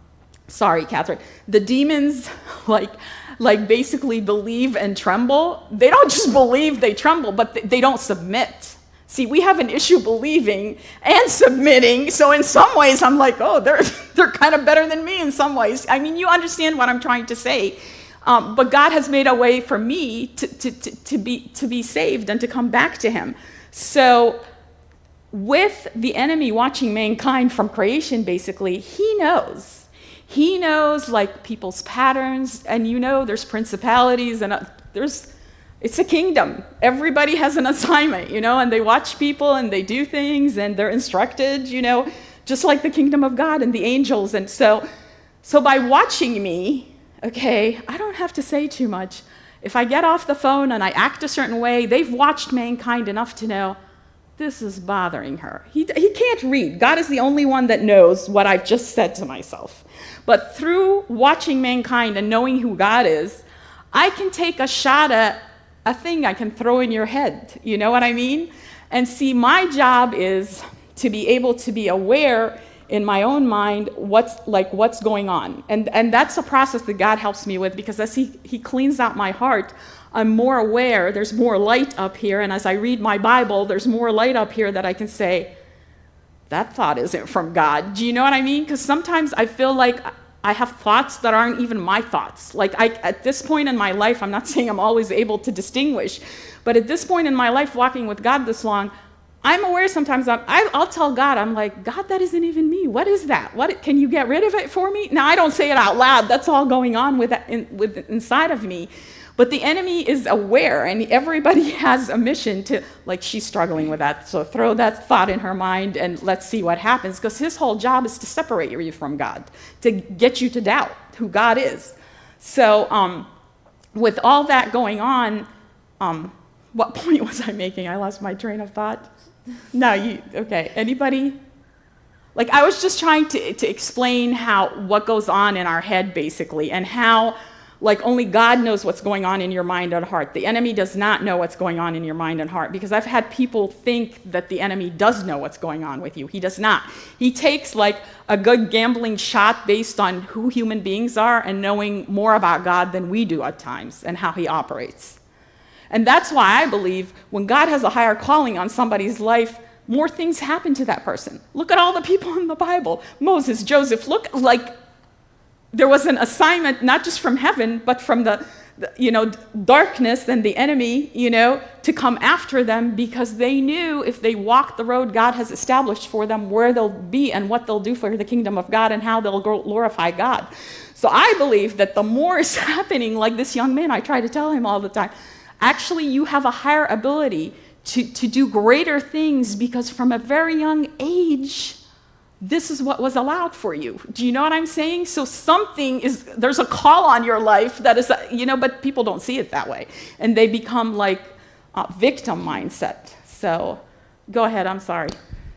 Speaker 1: sorry, Catherine, the demons, like, like basically believe and tremble. They don't just believe, they tremble, but they, they don't submit. See, we have an issue believing and submitting. So in some ways, I'm like, oh, they're, they're kind of better than me in some ways. I mean, you understand what I'm trying to say. Um, but God has made a way for me to, to, to, to, be, to be saved and to come back to him. So with the enemy watching mankind from creation, basically, he knows. He knows, like, people's patterns. And you know there's principalities and uh, there's... It's a kingdom. Everybody has an assignment, you know, and they watch people and they do things and they're instructed, you know, just like the kingdom of God and the angels. And so, so by watching me, okay, I don't have to say too much. If I get off the phone and I act a certain way, they've watched mankind enough to know this is bothering her. He, he can't read. God is the only one that knows what I've just said to myself. But through watching mankind and knowing who God is, I can take a shot at a thing I can throw in your head, you know what I mean? And see, my job is to be able to be aware in my own mind what's like what's going on. And, and that's a process that God helps me with, because as he, he cleans out my heart, I'm more aware, there's more light up here, and as I read my Bible, there's more light up here that I can say, that thought isn't from God. Do you know what I mean? Because sometimes I feel like I have thoughts that aren't even my thoughts. Like, I, at this point in my life, I'm not saying I'm always able to distinguish, but at this point in my life, walking with God this long, I'm aware sometimes, I'm, I, I'll tell God, I'm like, God, that isn't even me. What is that? What, can you get rid of it for me? Now, I don't say it out loud. That's all going on with, in, with inside of me. But the enemy is aware, and everybody has a mission to, like, she's struggling with that, so throw that thought in her mind and let's see what happens, because his whole job is to separate you from God, to get you to doubt who God is. So um, with all that going on, um, what point was I making? I lost my train of thought. No, you, okay, anybody? Like, I was just trying to, to explain how, what goes on in our head, basically, and how, like, only God knows what's going on in your mind and heart. The enemy does not know what's going on in your mind and heart, because I've had people think that the enemy does know what's going on with you. He does not. He takes, like, a good gambling shot based on who human beings are and knowing more about God than we do at times and how he operates. And that's why I believe when God has a higher calling on somebody's life, more things happen to that person. Look at all the people in the Bible. Moses, Joseph, look, like, there was an assignment, not just from heaven, but from the, the, you know, darkness and the enemy, you know, to come after them, because they knew if they walked the road God has established for them, where they'll be and what they'll do for the kingdom of God and how they'll glorify God. So I believe that the more is happening, like this young man, I try to tell him all the time, actually you have a higher ability to, to do greater things, because from a very young age, this is what was allowed for you. Do you know what I'm saying? So something is, there's a call on your life that is, you know, but people don't see it that way. And they become like a victim mindset. So go ahead, I'm sorry.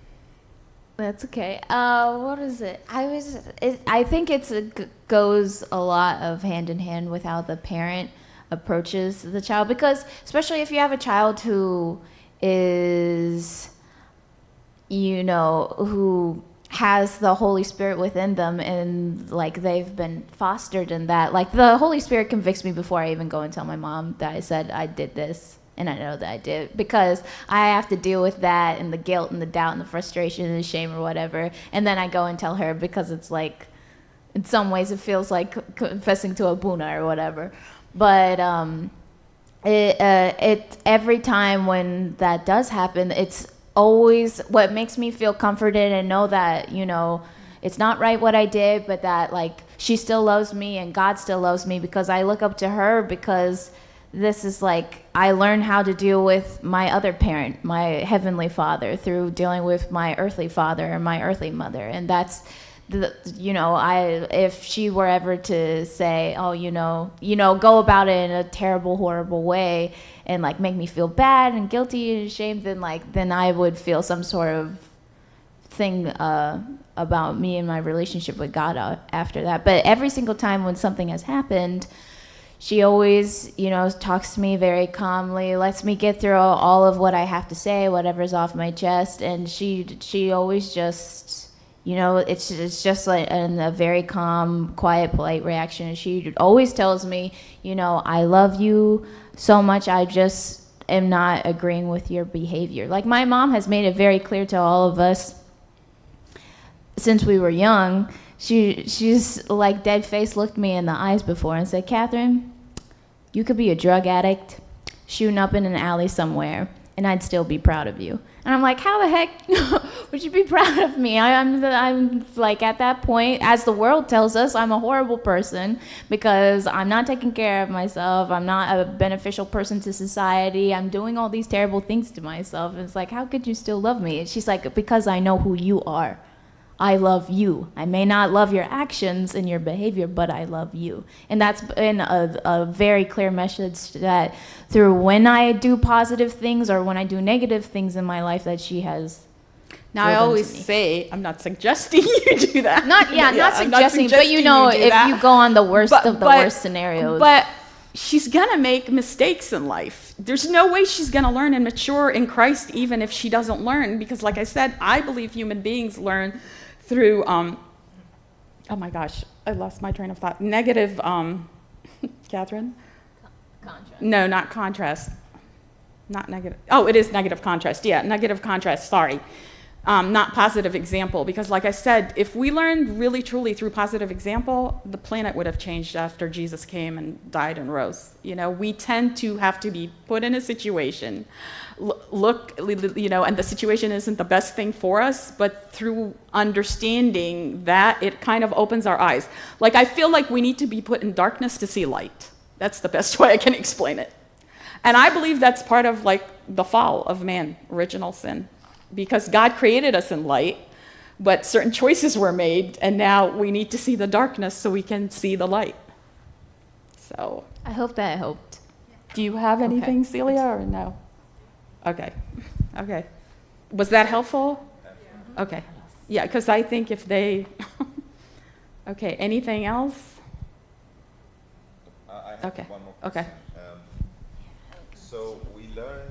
Speaker 9: That's okay. Uh, what is it? I was, it, I think it's a, goes a lot of hand in hand with how the parent approaches the child, because especially if you have a child who is, you know, who has the Holy Spirit within them, and like they've been fostered in that. Like, the Holy Spirit convicts me before I even go and tell my mom that I said I did this, and I know that I did, because I have to deal with that and the guilt and the doubt and the frustration and the shame or whatever, and then I go and tell her, because it's like, in some ways it feels like confessing to a Buna or whatever. But um, it, uh, it every time when that does happen, it's always what makes me feel comforted and know that, you know, it's not right what I did, but that, like, she still loves me and God still loves me, because I look up to her, because this is like, I learned how to deal with my other parent, my heavenly father, through dealing with my earthly father and my earthly mother. And that's the, you know, I, if she were ever to say, oh, you know, you know, go about it in a terrible, horrible way and like make me feel bad and guilty and ashamed, then like, then I would feel some sort of thing uh, about me and my relationship with God after that. But every single time when something has happened, she always, you know, talks to me very calmly, lets me get through all of what I have to say, whatever's off my chest, and she she always just, You know, it's it's just like in a very calm, quiet, polite reaction. And she always tells me, you know, I love you so much. I just am not agreeing with your behavior. Like my mom has made it very clear to all of us since we were young. She she's like dead face looked me in the eyes before and said, Catherine, you could be a drug addict shooting up in an alley somewhere, and I'd still be proud of you. And I'm like, how the heck would you be proud of me? I, I'm, I'm like at that point, as the world tells us, I'm a horrible person because I'm not taking care of myself. I'm not a beneficial person to society. I'm doing all these terrible things to myself. And it's like, how could you still love me? And she's like, because I know who you are. I love you. I may not love your actions and your behavior, but I love you. And that's been a, a very clear message that through when I do positive things or when I do negative things in my life that she has.
Speaker 1: Now I always say, I'm not suggesting you do that.
Speaker 9: Not yeah,
Speaker 1: yeah
Speaker 9: not,
Speaker 1: I'm
Speaker 9: suggesting,
Speaker 1: not suggesting,
Speaker 9: but you know,
Speaker 1: you
Speaker 9: if
Speaker 1: that.
Speaker 9: you go on the worst
Speaker 1: but,
Speaker 9: of the
Speaker 1: but,
Speaker 9: worst scenarios.
Speaker 1: But she's gonna make mistakes in life. There's no way she's gonna learn and mature in Christ even if she doesn't learn, because like I said, I believe human beings learn through, um, oh my gosh, I lost my train of thought. Negative, um, Catherine? Contrast. No, not contrast. Not negative. Oh, it is negative contrast. Yeah, negative contrast, sorry. Um, not positive example, because like I said, if we learned really truly through positive example, the planet would have changed after Jesus came and died and rose. You know, we tend to have to be put in a situation, look, you know, and the situation isn't the best thing for us, but through understanding that, it kind of opens our eyes. Like, I feel like we need to be put in darkness to see light. That's the best way I can explain it. And I believe that's part of, like, the fall of man, original sin. Because God created us in light, but certain choices were made, and now we need to see the darkness so we can see the light. So
Speaker 9: I hope that helped.
Speaker 1: Do you have anything, okay. Celia, or no? Okay. Okay. Was that helpful? Okay. Yeah, because I think if they... Okay, anything else?
Speaker 2: Uh, I have
Speaker 1: okay.
Speaker 2: one more question.
Speaker 1: Okay.
Speaker 2: Um, so we learned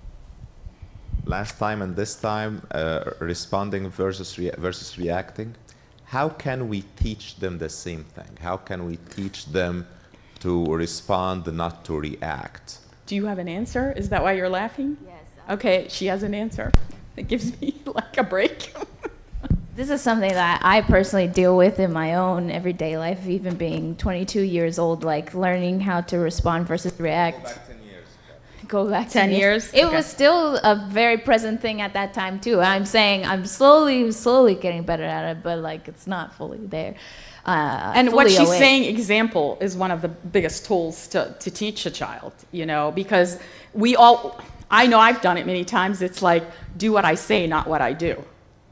Speaker 2: last time and this time, uh, responding versus, rea versus reacting. How can we teach them the same thing? How can we teach them to respond, not to react?
Speaker 1: Do you have an answer? Is that why you're laughing?
Speaker 9: Yes.
Speaker 1: Okay, she has an answer. It gives me like a break.
Speaker 9: This is something that I personally deal with in my own everyday life, even being twenty-two years old, like learning how to respond versus react. Go back ten years. It okay. was still a very present thing at that time too. I'm saying I'm slowly, slowly getting better at it, but like it's not fully there. Uh,
Speaker 1: and
Speaker 9: fully
Speaker 1: what she's
Speaker 9: awake.
Speaker 1: saying, example, is one of the biggest tools to, to teach a child, you know, because we all, I know I've done it many times. It's like, do what I say, not what I do.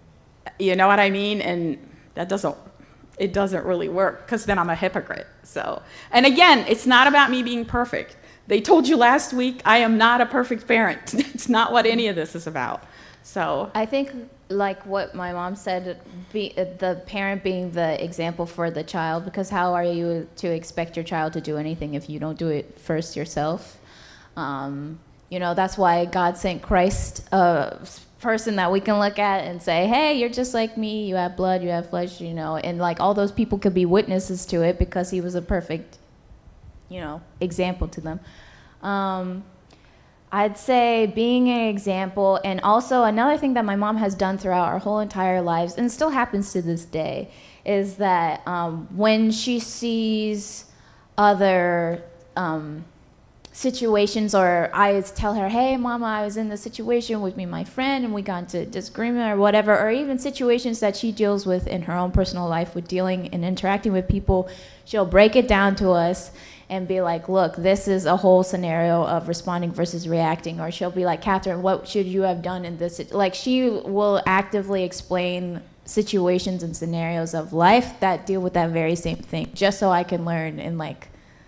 Speaker 1: You know what I mean? And that doesn't, it doesn't really work, because then I'm a hypocrite. So, and again, it's not about me being perfect. They told you last week, I am not a perfect parent. It's not what any of this is about. So
Speaker 9: I think, like what my mom said, be, uh, the parent being the example for the child, because how are you to expect your child to do anything if you don't do it first yourself? Um, you know, that's why God sent Christ, a person that we can look at and say, hey, you're just like me, you have blood, you have flesh, you know, and like all those people could be witnesses to it because he was a perfect, you know, example to them. Um, I'd say being an example, and also another thing that my mom has done throughout our whole entire lives, and still happens to this day, is that um, when she sees other um, situations, or I tell her, hey, Mama, I was in this situation with me and my friend, and we got into disagreement or whatever, or even situations that she deals with in her own personal life with dealing and interacting with people, she'll break it down to us and be like, look, this is a whole scenario of responding versus reacting. Or she'll be like, Catherine, what should you have done in this? Like, she will actively explain situations and scenarios of life that deal with that very same thing, just so I can learn and like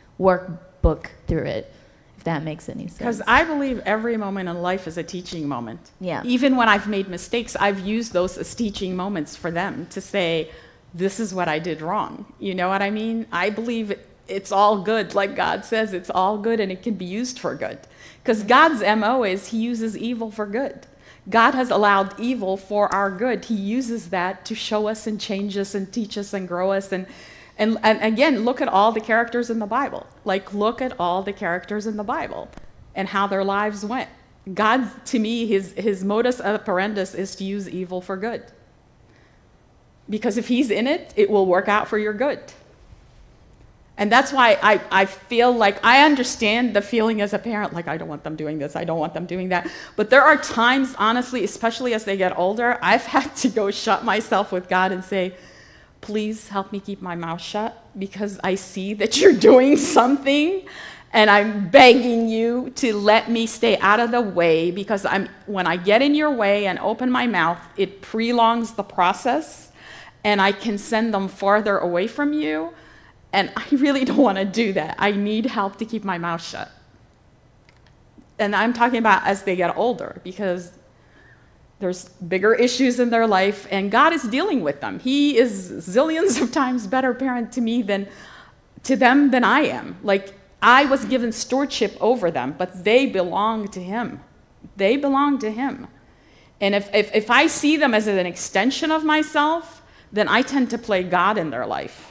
Speaker 9: workbook through it, if that makes any sense.
Speaker 1: Because I believe every moment in life is a teaching moment.
Speaker 9: Yeah.
Speaker 1: Even when I've made mistakes, I've used those as teaching moments for them to say, this is what I did wrong. You know what I mean? I believe it, it's all good. Like God says, it's all good and it can be used for good. Because God's M O is he uses evil for good. God has allowed evil for our good. He uses that to show us and change us and teach us and grow us. And, and, and again, look at all the characters in the Bible. Like, look at all the characters in the Bible and how their lives went. God, to me, his, his modus operandi is to use evil for good. Because if he's in it, it will work out for your good. And that's why I, I feel like I understand the feeling as a parent, like, I don't want them doing this, I don't want them doing that. But there are times, honestly, especially as they get older, I've had to go shut myself with God and say, please help me keep my mouth shut, because I see that you're doing something, and I'm begging you to let me stay out of the way, because I'm, when I get in your way and open my mouth, it prolongs the process, and I can send them farther away from you. And I really don't want to do that. I need help to keep my mouth shut. And I'm talking about as they get older, because there's bigger issues in their life, and God is dealing with them. He is zillions of times better parent to me than to them than I am. Like, I was given stewardship over them, but they belong to him. They belong to him. And if, if, if I see them as an extension of myself, then I tend to play God in their life.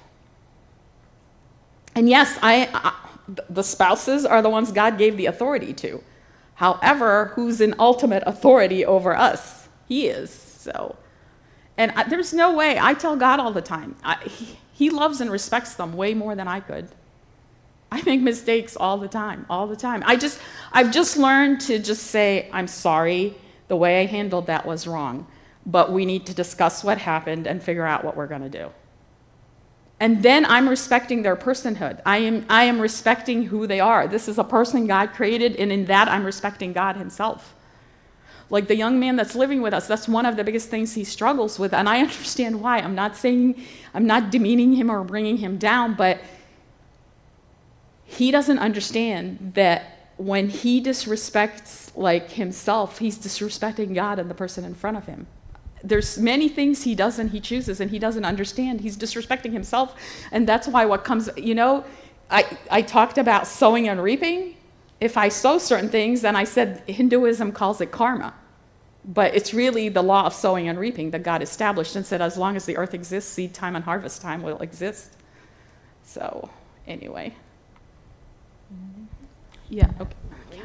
Speaker 1: And yes, I, I, the spouses are the ones God gave the authority to. However, who's in ultimate authority over us? He is. So, and I, there's no way. I tell God all the time, I, he, he loves and respects them way more than I could. I make mistakes all the time, all the time. I just, I've just learned to just say, I'm sorry, the way I handled that was wrong, but we need to discuss what happened and figure out what we're going to do. And then I'm respecting their personhood. I am, I am respecting who they are. This is a person God created, and in that I'm respecting God himself. Like the young man that's living with us, that's one of the biggest things he struggles with, and I understand why. I'm not saying, I'm not demeaning him or bringing him down, but he doesn't understand that when he disrespects like himself, he's disrespecting God and the person in front of him. There's many things he does and he chooses and he doesn't understand. He's disrespecting himself, and that's why what comes, you know, I, I talked about sowing and reaping. If I sow certain things, then I said Hinduism calls it karma. But it's really the law of sowing and reaping that God established and said as long as the earth exists, seed time and harvest time will exist. So, anyway. Yeah, okay.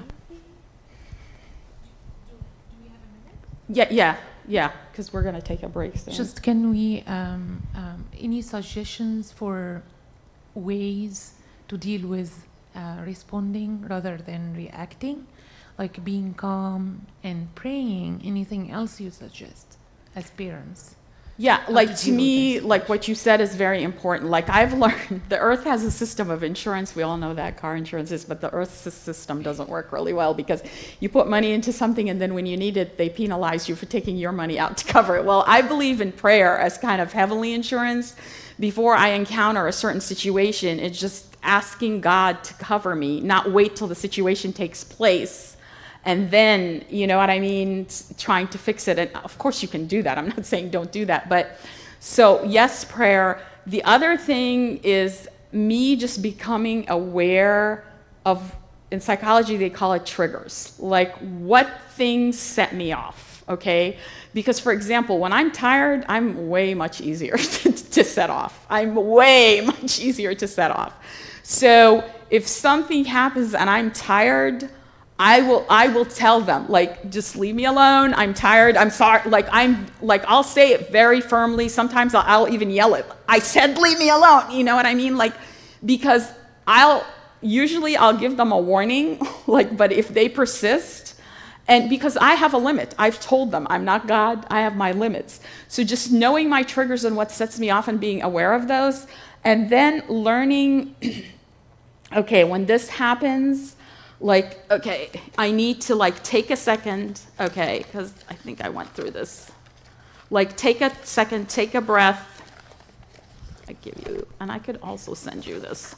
Speaker 1: Yeah, yeah, yeah, because we're going to take a break soon.
Speaker 10: Just can we, um, um, any suggestions for ways to deal with uh, responding rather than reacting? Like being calm and praying, anything else you suggest as parents?
Speaker 1: Yeah, like to me, like what you said is very important. Like I've learned, the earth has a system of insurance. We all know that car insurance is, but the earth's system doesn't work really well because you put money into something and then when you need it, they penalize you for taking your money out to cover it. Well, I believe in prayer as kind of heavenly insurance. Before I encounter a certain situation, it's just asking God to cover me, not wait till the situation takes place. And then, you know what I mean, trying to fix it. And of course you can do that. I'm not saying don't do that. But so yes, prayer. The other thing is me just becoming aware of, in psychology they call it triggers. Like what things set me off, okay? Because for example, when I'm tired, I'm way much easier to, to set off. I'm way much easier to set off. So if something happens and I'm tired, I will, I will tell them, like, just leave me alone. I'm tired. I'm sorry. Like, I'm, like, I'll say it very firmly. Sometimes I'll, I'll even yell it. I said, leave me alone. You know what I mean? Like, because I'll, usually I'll give them a warning, like, but if they persist, and because I have a limit, I've told them, I'm not God. I have my limits. So just knowing my triggers and what sets me off and being aware of those, and then learning, okay, when this happens, like, okay, I need to like take a second, okay, because I think I went through this. Like take a second, take a breath. I give you, and I could also send you this.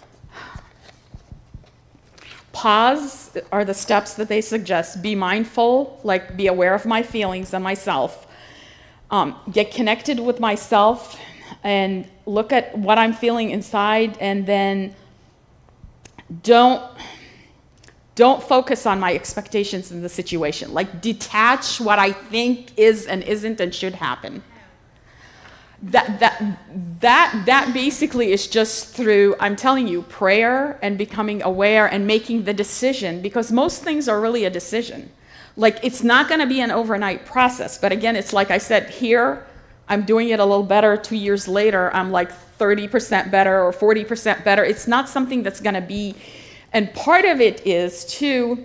Speaker 1: Pause are the steps that they suggest. Be mindful, like be aware of my feelings and myself. Um, get connected with myself and look at what I'm feeling inside, and then don't, don't focus on my expectations in the situation. Like, detach what I think is and isn't and should happen. That, that, that, that basically is just through, I'm telling you, prayer and becoming aware and making the decision, because most things are really a decision. Like, it's not going to be an overnight process. But again, it's like I said, here, I'm doing it a little better. Two years later, I'm like thirty percent better or forty percent better. It's not something that's going to be, and part of it is, too,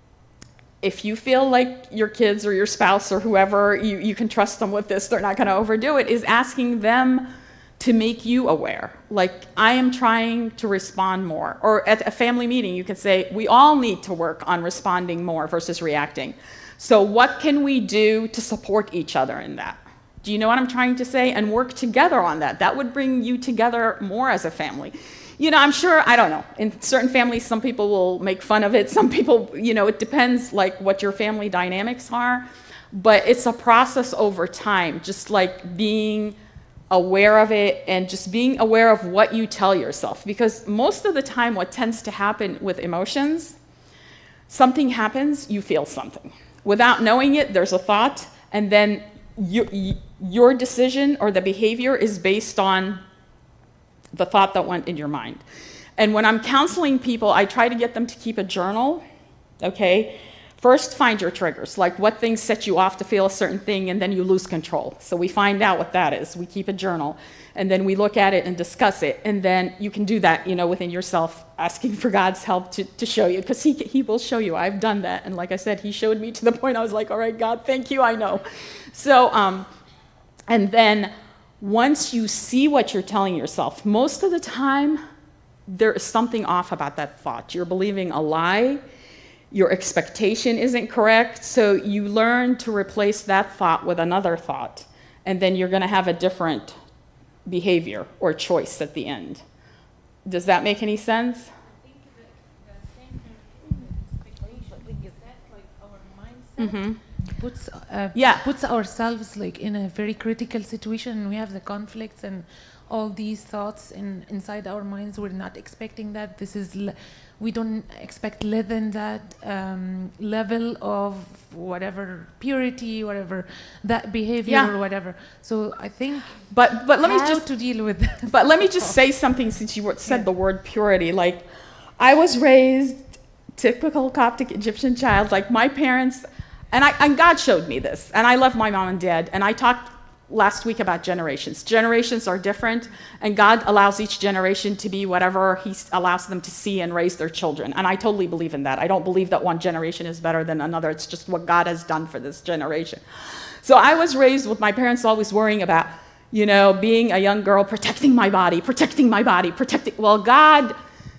Speaker 1: if you feel like your kids or your spouse or whoever, you, you can trust them with this, they're not going to overdo it, is asking them to make you aware. Like, I am trying to respond more. Or at a family meeting, you can say, we all need to work on responding more versus reacting. So what can we do to support each other in that? Do you know what I'm trying to say? And work together on that. That would bring you together more as a family. You know, I'm sure, I don't know, in certain families, some people will make fun of it. Some people, you know, it depends like what your family dynamics are. But it's a process over time, just like being aware of it and just being aware of what you tell yourself. Because most of the time, what tends to happen with emotions, something happens, you feel something. Without knowing it, there's a thought, and then you, your decision or the behavior is based on the thought that went in your mind. And when I'm counseling people, I try to get them to keep a journal, okay? First, find your triggers, like what things set you off to feel a certain thing, and then you lose control. So we find out what that is. We keep a journal, and then we look at it and discuss it. And then you can do that, you know, within yourself, asking for God's help to, to show you, because he, he will show you. I've done that. And like I said, he showed me to the point I was like, all right, God, thank you, I know. So, um, and then once you see what you're telling yourself, most of the time, there is something off about that thought. You're believing a lie. Your expectation isn't correct, so you learn to replace that thought with another thought, and then you're going to have a different behavior or choice at the end. Does that make any sense?
Speaker 10: I think the, the same thing with expectation is that like our mindset
Speaker 1: Mm-hmm.
Speaker 10: puts uh,
Speaker 1: Yeah.
Speaker 10: puts ourselves like in a very critical situation, and we have the conflicts and all these thoughts in inside our minds. We're not expecting that. This is l we don't expect less than that um, level of whatever purity, whatever that behavior
Speaker 1: Yeah.
Speaker 10: or whatever. So I think
Speaker 1: But but let me
Speaker 10: how
Speaker 1: just
Speaker 10: to deal with that.
Speaker 1: But let me just say something, since you were- said the word purity. Like, I was raised typical Coptic Egyptian child. Like, my parents, and I and God showed me this, and I love my mom and dad. And I talked last week about generations. Generations are different, and God allows each generation to be whatever he s- allows them to see and raise their children. And I totally believe in that. I don't believe that one generation is better than another. It's just what God has done for this generation. So I was raised with my parents always worrying about, you know, being a young girl, protecting my body, protecting my body, protecting. Well, God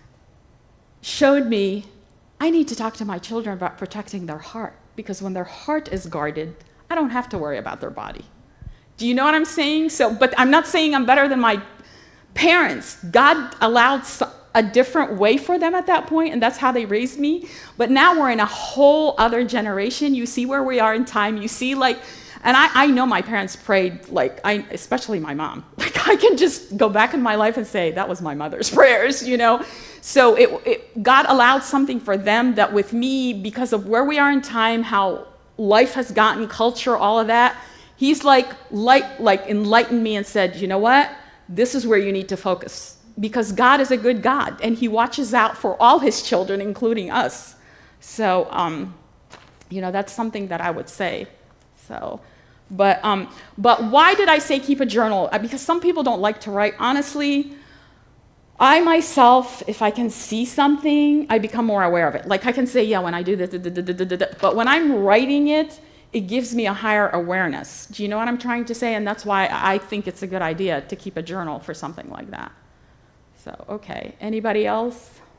Speaker 1: showed me I need to talk to my children about protecting their heart, because when their heart is guarded, I don't have to worry about their body. Do you know what I'm saying? So, but I'm not saying I'm better than my parents. God allowed so- a different way for them at that point, and that's how they raised me. But now we're in a whole other generation. You see where we are in time. You see, like, and I, I know my parents prayed, like, I, especially my mom. Like, I can just go back in my life and say, that was my mother's prayers, you know? So it, it, God allowed something for them that with me, because of where we are in time, how life has gotten, culture, all of that, He's like, light, like enlightened me and said, you know what? This is where you need to focus, because God is a good God, and he watches out for all his children, including us. So, um, you know, that's something that I would say. So, but, um, but why did I say keep a journal? Uh, Because some people don't like to write. Honestly, I myself, if I can see something, I become more aware of it. Like I can say, yeah, when I do this, da, da, da, da, da, da. But when I'm writing it, it gives me a higher awareness. Do you know what I'm trying to say? And that's why I think it's a good idea to keep a journal for something like that. So, okay. Anybody else?